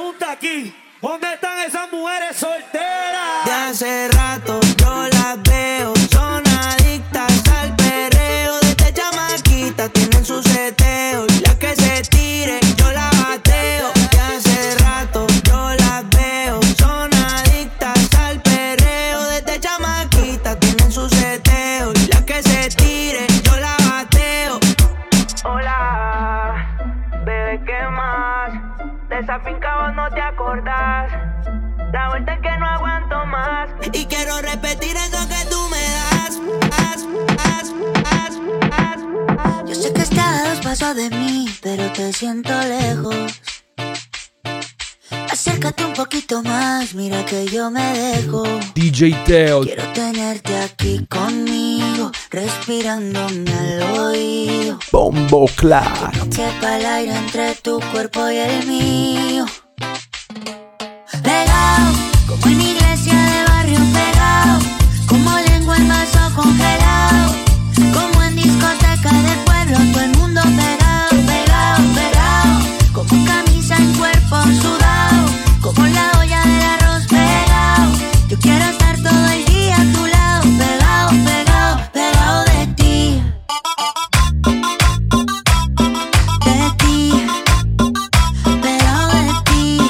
pregunta aquí, ¿dónde están esas mujeres solteras? De hace rato yo las veo, son adictas al perreo. Desde chamaquita tienen su seteo, la que se tire yo la bateo. De hace rato yo las veo, son adictas al perreo. Desde chamaquita tienen su seteo, la que se tire yo la bateo. Hola, bebé, ¿qué más? De esa finca vos no te acordás. La vuelta es que no aguanto más y quiero repetir eso que tú me das. As, as, as, as. Yo sé que estás a dos pasos de mí, pero te siento lejos. Acércate un poquito más, mira que yo me dejo. D J Teo. Quiero tenerte aquí conmigo, respirándome al oído. Bombo Clat. Que no quepa el aire entre tu cuerpo y el mío. Pegado, como en iglesia de barrio pegado, como lengua en vaso congelado, como en discoteca del pueblo, todo el mundo pegado, pegado, pegado, como camisa en cuerpo sudado, como la olla del arroz pegado. Yo quiero estar todo el día a tu lado, pegado, pegado, pegado de ti, de ti, pegado de ti.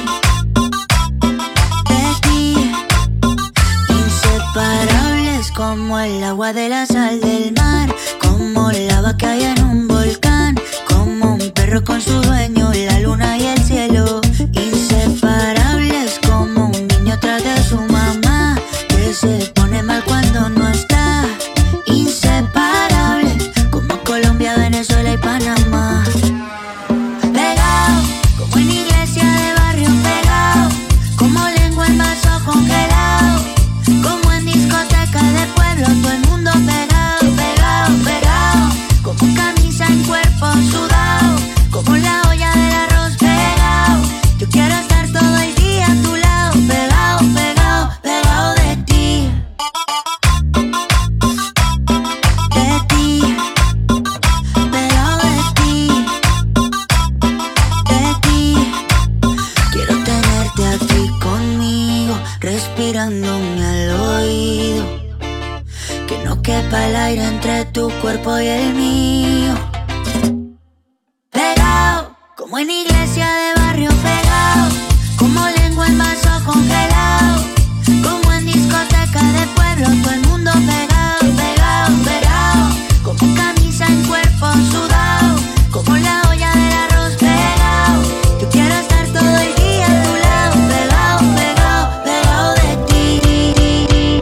Inseparables como el agua de la sal del mar, como lava que hay en un volcán, como un perro con su dueño, la luna y el cielo. Inseparables como un niño tras de su mamá, que se pone mal cuando no está. Inseparables como Colombia, Venezuela y Panamá. Pegado, como en iglesia de barrio pegado, como lengua en vaso congelado, como en discoteca de pueblo, todo el mundo pegado, pegado, pegado, como camisa en cuerpo sudado, como la olla del arroz pegado. Yo quiero estar todo el día a tu lado, pegado, pegado, pegado de ti, de ti, pegado de ti, de ti. Quiero tenerte aquí conmigo, respirándome al oído, que no quepa el aire entre tu cuerpo y el mío. Pegado, como en iglesia de barrio pegado, como lengua en vaso congelado, como en discoteca de pueblo, todo el mundo pegado, pegado, pegado, como camisa en cuerpo sudado, como la olla del arroz pegado. Yo quiero estar todo el día a tu lado, pegado, pegado, pegado de ti.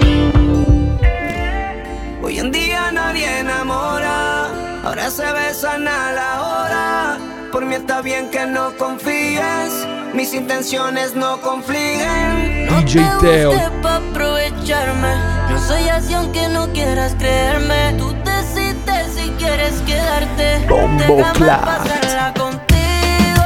Hoy en día nadie enamora, ahora se besan a la hora. Por mí está bien que no confíes, mis intenciones no confliguen. D J Teo. No te busques pa' aprovecharme, no soy así aunque no quieras creerme. Tú decides si quieres quedarte. Bombo Déjame Clat. pasarla contigo,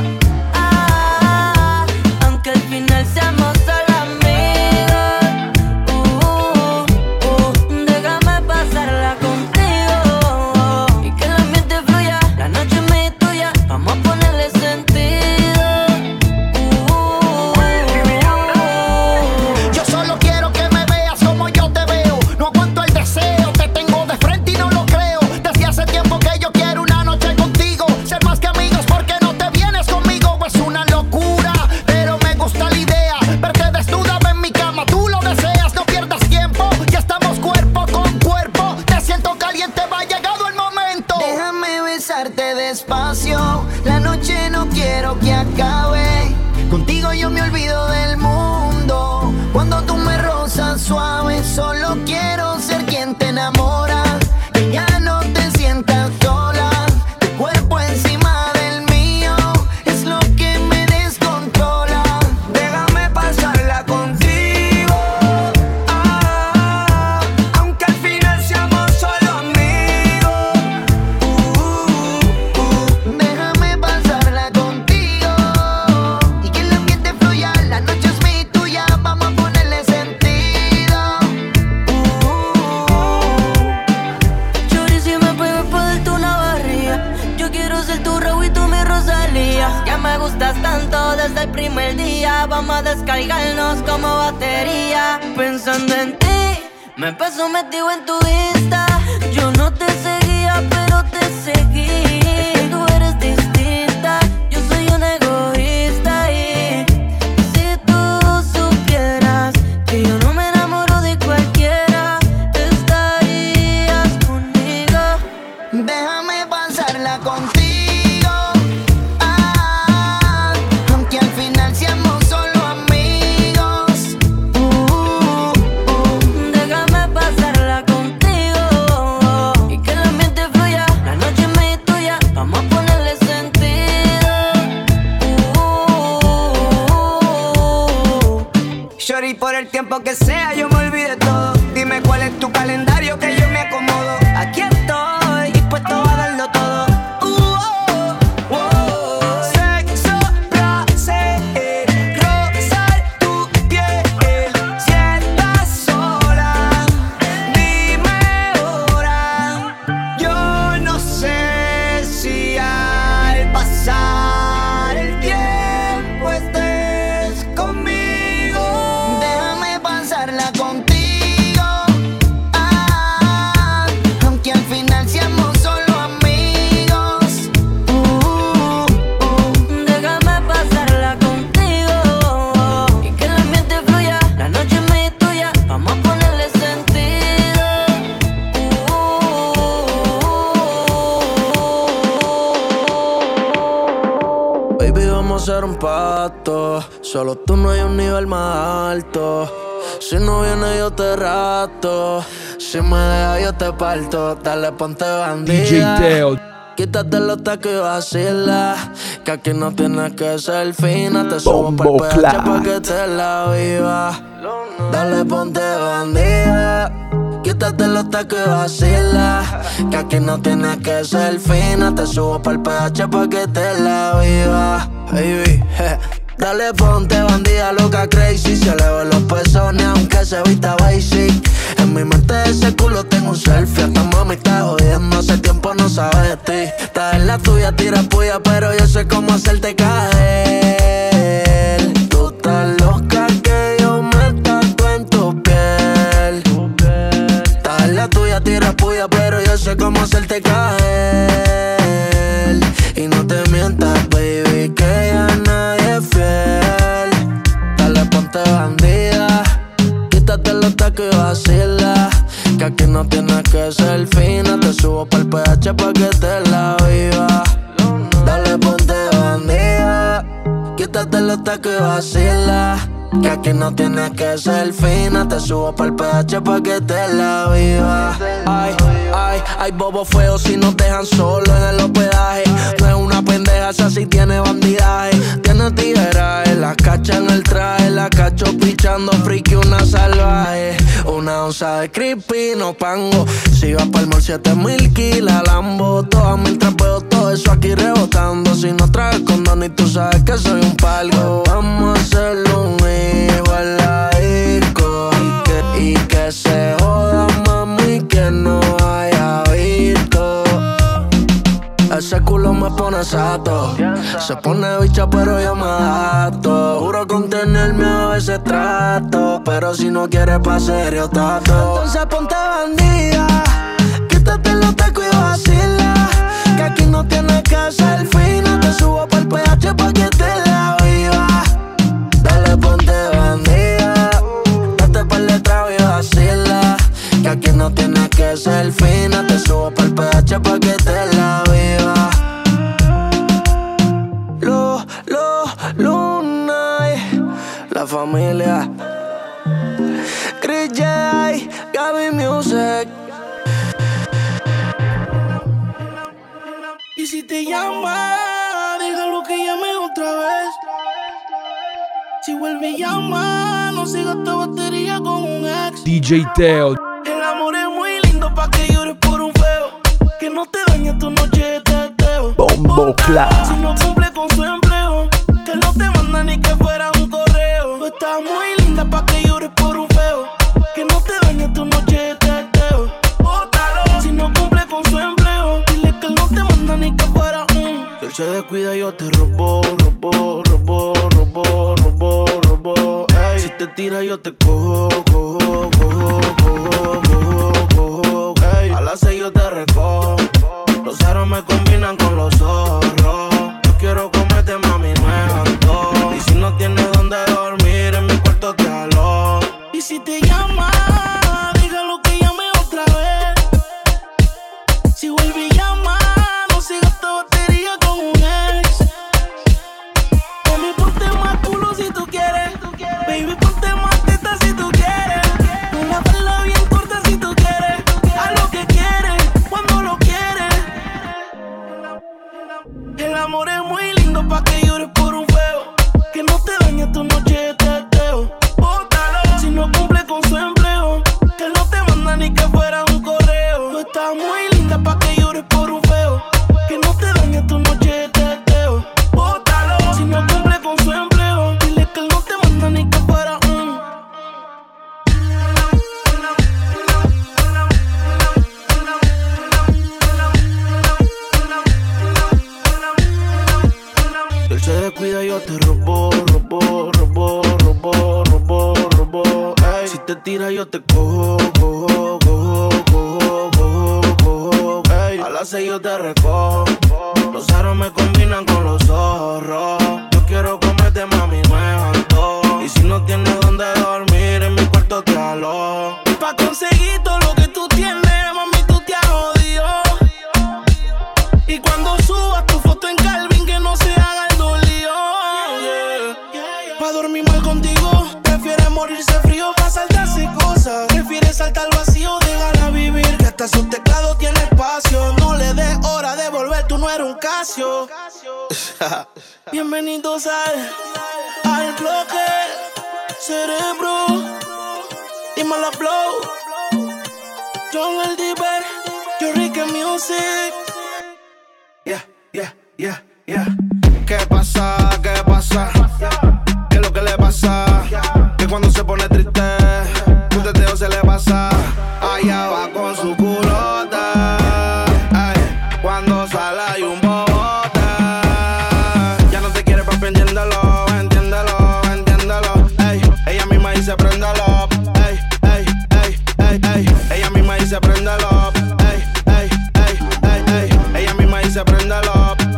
ah, aunque al final seamos solo amigos. Uh, uh, déjame pasarla contigo y que el ambiente fluya, la noche es mía y tuya, vamos a ponerle sentido. Uh, Yo solo quiero que me veas como yo te veo. No aguanto el deseo, te tengo de frente y no lo creo. Desde hace tiempo que yo quiero una noche contigo, ser más que amigos porque no te vienes conmigo. Es una locura, pero me gusta la idea. Verte desnuda en mi cama, tú lo deseas. No pierdas tiempo, ya estamos cuerpo con cuerpo. Te siento caliente, va llegado el momento. Déjame besarte despacio, la noche no quiero que acabe. Contigo yo me olvido del mundo, cuando tú me rozas suave. Solo quiero ser quien te enamora, que ya no te sientas sola. Tu cuerpo encima del mío es lo que me descontrola. Déjame pasarla contigo, ah, aunque al final seamos solo amigos. Uh, uh, déjame pasarla contigo y que el ambiente fluya, la noche es mía y tuya, vamos a ponerle sentido. Chori, si me puedes poder tu una barriga, yo quiero ser tu Raúl y tú mi Rosalía. Ya me gustas tanto desde desde el primer día. Vamos a descargarnos como batería. Pensando en ti, me paso metido en tu Insta. Yo no te seguía, pero te seguí. Tú eres distinta, yo soy un egoísta. Y si tú supieras que yo no me enamoro de cualquiera, estarías conmigo. Déjame pasarla contigo, ah, aunque al final seamos solo amigos. Uh, uh, uh, déjame pasarla contigo y que el ambiente fluya. La noche es mía y tuya, vamos a ponerle sentido. Uh, uh, uh. Shorty, por el tiempo que sea, yo me olvidé todo. Dime cuál es tu calendario que yo me acomodo. Aquí estoy, dispuesto a darlo todo. Uh, oh, oh, oh. Sexo, placer, rozar tu piel. Si estás sola, dime ahora. Yo no sé si al pasar el tiempo estés conmigo. Déjame pasarla contigo, ah, aunque al final seamos solo amigos. Uh, uh, uh. Déjame pasarla contigo y que el ambiente fluya. La noche es mía y tuya, vamos a ponerle sentido. Baby, vamos a hacer un pacto. Solo tú, no hay un nivel más alto. Si no viene yo te rato. Si me dejas yo te parto. Dale, ponte bandida. D J Teo. Quítate los tacos y vacila. Que aquí no tienes que ser fina. Te subo pa'l Bombo P H Clap. pa' que te la viva. Dale, ponte bandida. Quítate los tacos y vacila. Que aquí no tienes que ser fina. Te subo pa'l P H pa' que te la viva. Baby, je. Dale, ponte bandida loca crazy. Se le ven los pezones aunque se vista basic. En mi mente ese culo tengo un selfie. Hasta mami está jodiendo, hace tiempo no sabe de ti. Estás en la tuya, tira puya, pero yo sé cómo hacerte caer. Tú estás loca que yo me tatué en tu piel. Estás en la tuya, tira puya, pero yo sé cómo hacerte caer. Y no te mientas, baby, que ya nadie es fiel. Dale, ponte bandida. Quítate los tacos y vacila. Que aquí no tienes que ser fina. Te subo pa'l P H pa' que te la viva. Dale, ponte bandida. Quítate los tacos y vacila. Que aquí no tienes que ser fina. Te subo pa'l P H pa' que te la viva. Ay, ay, ay, bobo feo si nos dejan solo en el hospedaje. No es una pendeja, esa sí tiene bandidaje. Tiene tigueraje, la cacha en el traje. La cacho pichando friki, una salvaje. Una onza de creepy, no pango. Si vas pa'l mall, siete mil kilas Lambo. Todas mientras veo todo eso aquí rebotando. Si no traes condón y tú sabes que soy un palgo. Vamos a hacerlo un hijo en la disco. Y que, y que se joda, mami, que no haya visto. Ese culo me pone sato. Se pone bicha pero yo me adapto. Juro contenerme a veces trato. Pero si no quieres pa' serio tato. Entonces ponte bandida. Quítate los tacos y vacila. Que aquí no tienes que ser fina. Te subo pa'l P H pa' que te la viva. Dale, ponte bandida. Date pa'l de trago y vacila. Que aquí no tienes que ser fina. Te subo pa'l P H pa' que te la viva. Lo, lo, Luna, la familia. Chris J, Gaby Music. Y si te llama, déjalo que llame otra vez. Si vuelve y llama, no se gasta batería con un ex. D J Teo. El amor es muy lindo pa' que llores por un feo. Que no te dañe tu noche de teteo. Bombo Clap. Si no cumple con su empleo, que no te manda ni que fuera un correo. Tú estás muy linda pa' que llores por un feo. Que no te dañe tu noche de teteo. Bótalo. Si no cumple con su empleo, dile que no te manda ni que fuera un. Él se descuida y yo te robo, robo, robo, robo, robo, robo. Ey, si te tira yo te cojo, cojo, cojo, cojo, cojo, cojo. Ey, a las seis yo te recojo. Los aros me combinan con los zorros. Yo quiero comerte, mami, no es antojo. Y si no tienes donde dormir, en mi cuarto te alojo. Y si te llama, dígalo que llame otra vez. Si vuelve y llama, no sigas esta batería con un ex. Baby, ponte más culo si tú quieres. Baby, ponte más teta si tú quieres. Una falda bien corta si tú quieres. Haz lo que quieres, cuando lo quieres. El amor es muy lindo pa' que llores por un feo. Que no te dañe tu noche de teteo. Bótalo si no cumple con su empleo. Que no te manda ni que fuera un correo. Tú estás muy linda pa' que llores por un feo. Que no te dañe tu noche de teteo. Bótalo si no cumple con su empleo. Dile que él no te manda ni que fuera un. Él se descuida y yo te robo, robo, robo, robo, robo, robo. Ey, si te tira yo te cojo, cojo, cojo, cojo, cojo, cojo. Ey, a las seis yo te recojo. Los aros me combinan con los zorros. Yo quiero comerte, mami, no es antojo. Y si no tienes donde dormir, en mi cuarto te alojo. Y pa' conseguir todo lo que tú tienes, mami, tú te has jodido. Y cuando subas tu foto en Calvin, que no se haga el dolido, yeah. Pa' dormir mal contigo, prefieres morirse frío pa' saltarse cosas. Prefieres saltar al vacío, déjala vivir, que hasta su teclado tiene espacio. No le des hora de volver, tú no eres un Casio. Bienvenidos al, al bloque, cerebro, y mala flow. John el Diver, yo Ricky Music. Yeah, yeah, yeah, yeah. ¿Qué pasa? ¿Qué pasa? ¿Qué es lo que le pasa? Que cuando se pone triste, un teteo se le pasa. Allá va con su culota. Ay, cuando sale hay un bobote. Ya no te quiere, papi, entiéndelo, entiéndelo, entiéndelo. Ey, ella misma dice préndelo. Ey, ey, ey, ey, ey. Ella misma dice préndelo. Ey, ey, ey, ey, ey. Ella misma dice préndelo.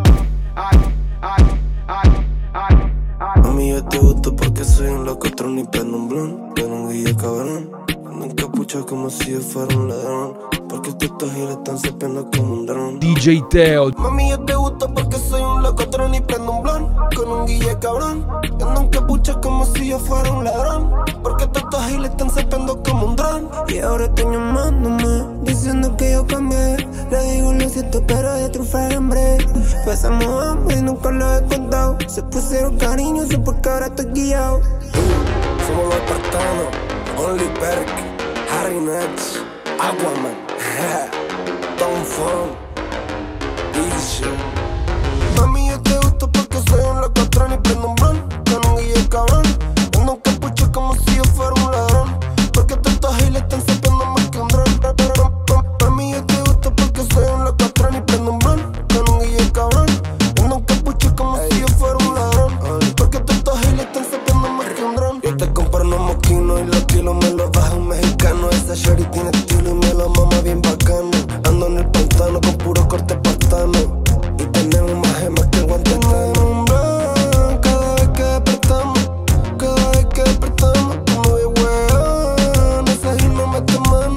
Mami, yo te gusto porque soy un locotrón y prendo un blon. Con un guille cabrón, ando en capucha como si yo fuera un ladrón. Porque estos giles están sapeando como un dron. D J Teo. Mami, yo te gusto porque soy un locotrón y prendo un blon. Con un guille cabrón, ando en capucha como si yo fuera un ladrón. Porque estos giles están sapeando como un dron. Y ahora estoy llamándome, diciendo que yo cambié. Le digo lo siento, pero de trufar hambre. Pasamos hambre y nunca lo he contado. Se pusieron cariñosos porque ahora estoy guiado. Somos los espartanos, Only Perk, Harry Nets, Aquaman, Tom Fong, Dice. Mami, yo te gusto porque soy un locotrón y prendo un blon. Con un guille cabrón, ando en capucha como si yo fuera un ladrón. Porque estos giles están sapeando más que un dron. Mami, yo te gusto porque soy un locotrón y prendo un blon. Con un guille cabrón, ando en capucha como si yo fuera un ladrón. Porque estos giles están sapeando más que un dron. Yo te compro unos moquinos y los kilos me los baja un mexicano. Esa shorty tiene estilo y me la mama bien bacano. Ando en el pantano con puro corte espartano. Y tenemos más gemas que el guante un blanco. Cada vez que despertamos, cada vez que despertamos, tú no ves weón, esa gil no mete mano.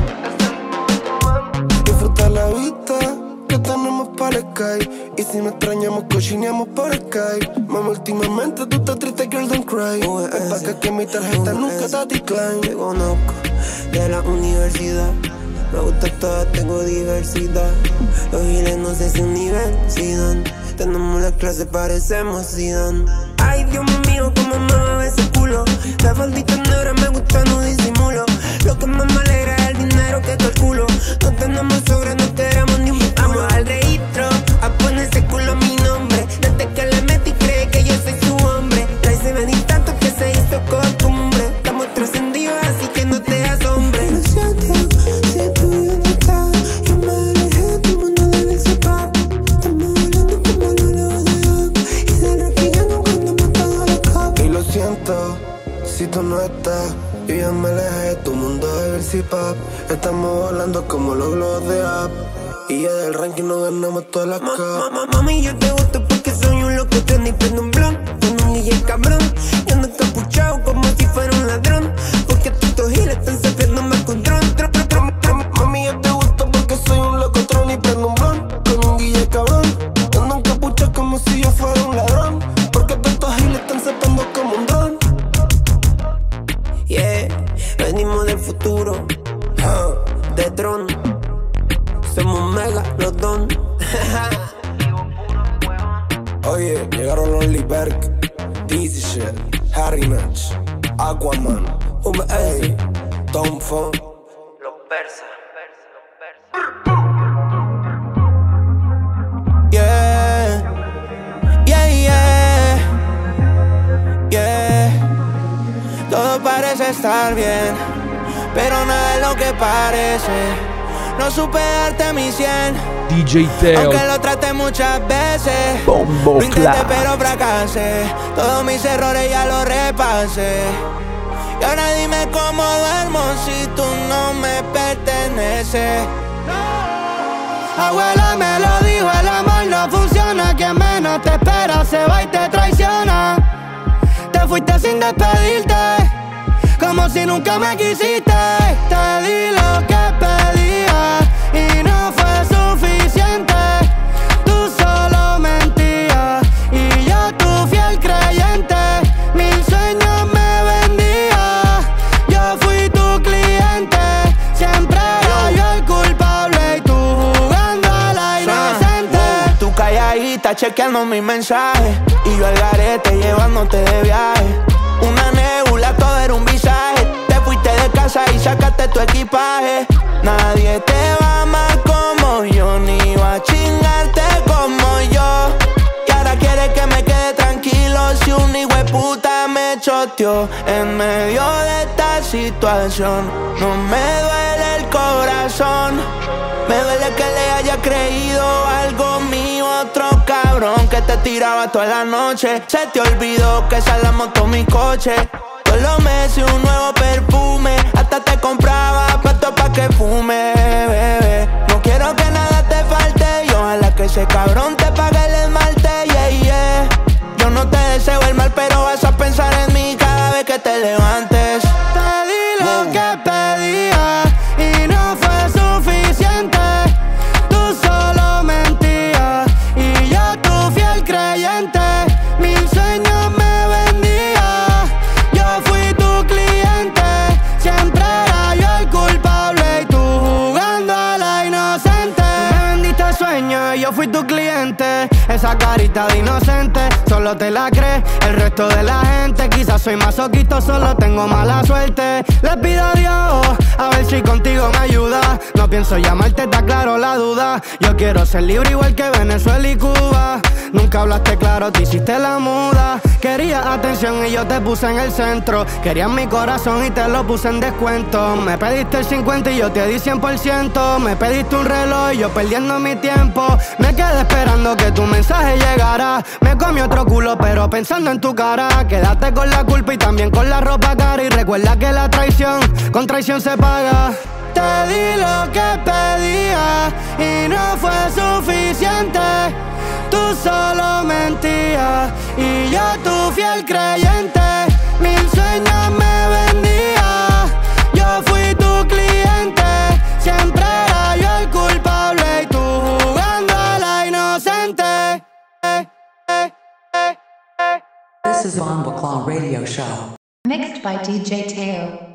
Disfruta la vista que tenemos para el sky. Y si no extrañamos, cochineamos por Skype. Mami, últimamente tú estás triste, girl, don't cry. Ven pa' acá que mi tarjeta nunca te decline. Te conozco de la universidad. Me gusta todo, tengo diversidad. Los giles no sé si universidad. Tenemos las clases, parecemos Zidane. Ay, Dios mío, cómo me va ese culo. La faldita negra me gusta, no disimulo. Lo que más me alegra es el dinero que calculo. No tenemos sobre, no queremos ni un culo. Vamos al registro, a poner ese culo a mi nombre. Desde que le metí cree que yo soy su hombre. La hice venir tanto que se hizo costumbre. Estamos trascendidos, así que no te asombre. Lo siento, si tú ya no estás. Yo me alejé, todo el mundo debe separar. Estamos hablando como lo tú no estás. Yo ya me alejé de tu mundo de Versi Pop. Estamos volando como los globos de app. Y ya del ranking no ganamos todas las capas. Ma, mami, yo te gusto porque soy un loco, y prendo un blon con un D J cabrón. Y ando encapuchado como si fuera un ladrón. Porque estos giles están sabiéndome con dron. Mami, yo te gusto porque soy un loco tron y prendo un blon con un D J cabrón. Ando encapuchado como si yo fuera un ladrón. Porque estos giles están sabiendo como un dron. Yeah, venimos del futuro, uh, de Tron. Somos mega, los don. Oye, llegaron los Liberk, Dizzy Shit, Harry Natch, Aquaman, V A, Tom Fon, los persas. Yeah, yeah, yeah, yeah. Todo parece estar bien, pero nada es lo que parece. No supe darte mi cien, D J Teo, aunque lo traté muchas veces. Bombo Lo intenté Clap. pero fracasé. Todos mis errores ya los repasé. Y ahora dime cómo duermo si tú no me perteneces. Abuela me lo dijo, el amor no funciona. Quien menos te espera se va y te traiciona. Te fuiste sin despedirte, como si nunca me quisiste. Te di lo que pedía y no fue suficiente. Tú solo mentías y yo tu fiel creyente. Mil sueños me vendía, yo fui tu cliente. Siempre era yo el culpable y tú jugando a la inocente. Tú calladita chequeando mis mensajes y yo al garete llevándote de viaje. Una nebula, todo era un visaje. Te fuiste de casa y sacaste tu equipaje. Nadie te va a amar como yo, ni va a chingarte como yo. Y ahora quieres que me quede tranquilo si un hijueputa me choteó. En medio de esta situación no me duele el corazón. Me duele que le haya creído algo mío, otro cabrón que te tiraba toda la noche. Se te olvidó que esa la montó mi coche. Todos los meses un nuevo perfume, hasta te compraba pasto pa' que fume, bebé. No quiero que nada te falte y ojalá que ese cabrón te pague el esmalte, yeah, yeah. Yo no te deseo el mal, pero vas a pensar en mí cada vez que te levantes. Te di lo que pedía y no fue suficiente. Tú solo mentías y yo tu fiel creyente. Mil sueños me vendía, yo fui tu cliente. Siempre era yo el culpable y tú jugando a la inocente. Tú me vendiste sueños y yo fui tu cliente. Esa carita de inocente solo te la crees el resto de la gente. Quizás soy masoquista, solo tengo mala suerte. Le pido a Dios a ver si contigo me ayuda. No pienso llamarte, está claro la duda. Yo quiero ser libre igual que Venezuela y Cuba. Nunca hablaste claro, te hiciste la muda. Querías atención y yo te puse en el centro. Querías mi corazón y te lo puse en descuento. Me pediste el cincuenta y yo te di cien por ciento. Me pediste un reloj y yo perdiendo mi tiempo. Me quedé esperando que tu mensaje llegara. Me comí otro culo pero pensando en tu cara. Quédate con la culpa y también con la ropa cara. Y recuerda que la traición con traición se paga. Te di lo que pedía y no fue suficiente. Tú solo mentías y yo tu fiel creyente. Mil sueños me vendía, yo fui tu cliente. Siempre era yo el culpable y tú jugando a la inocente. This is Bomba Claw Radio Show. Mixed by D J Teo.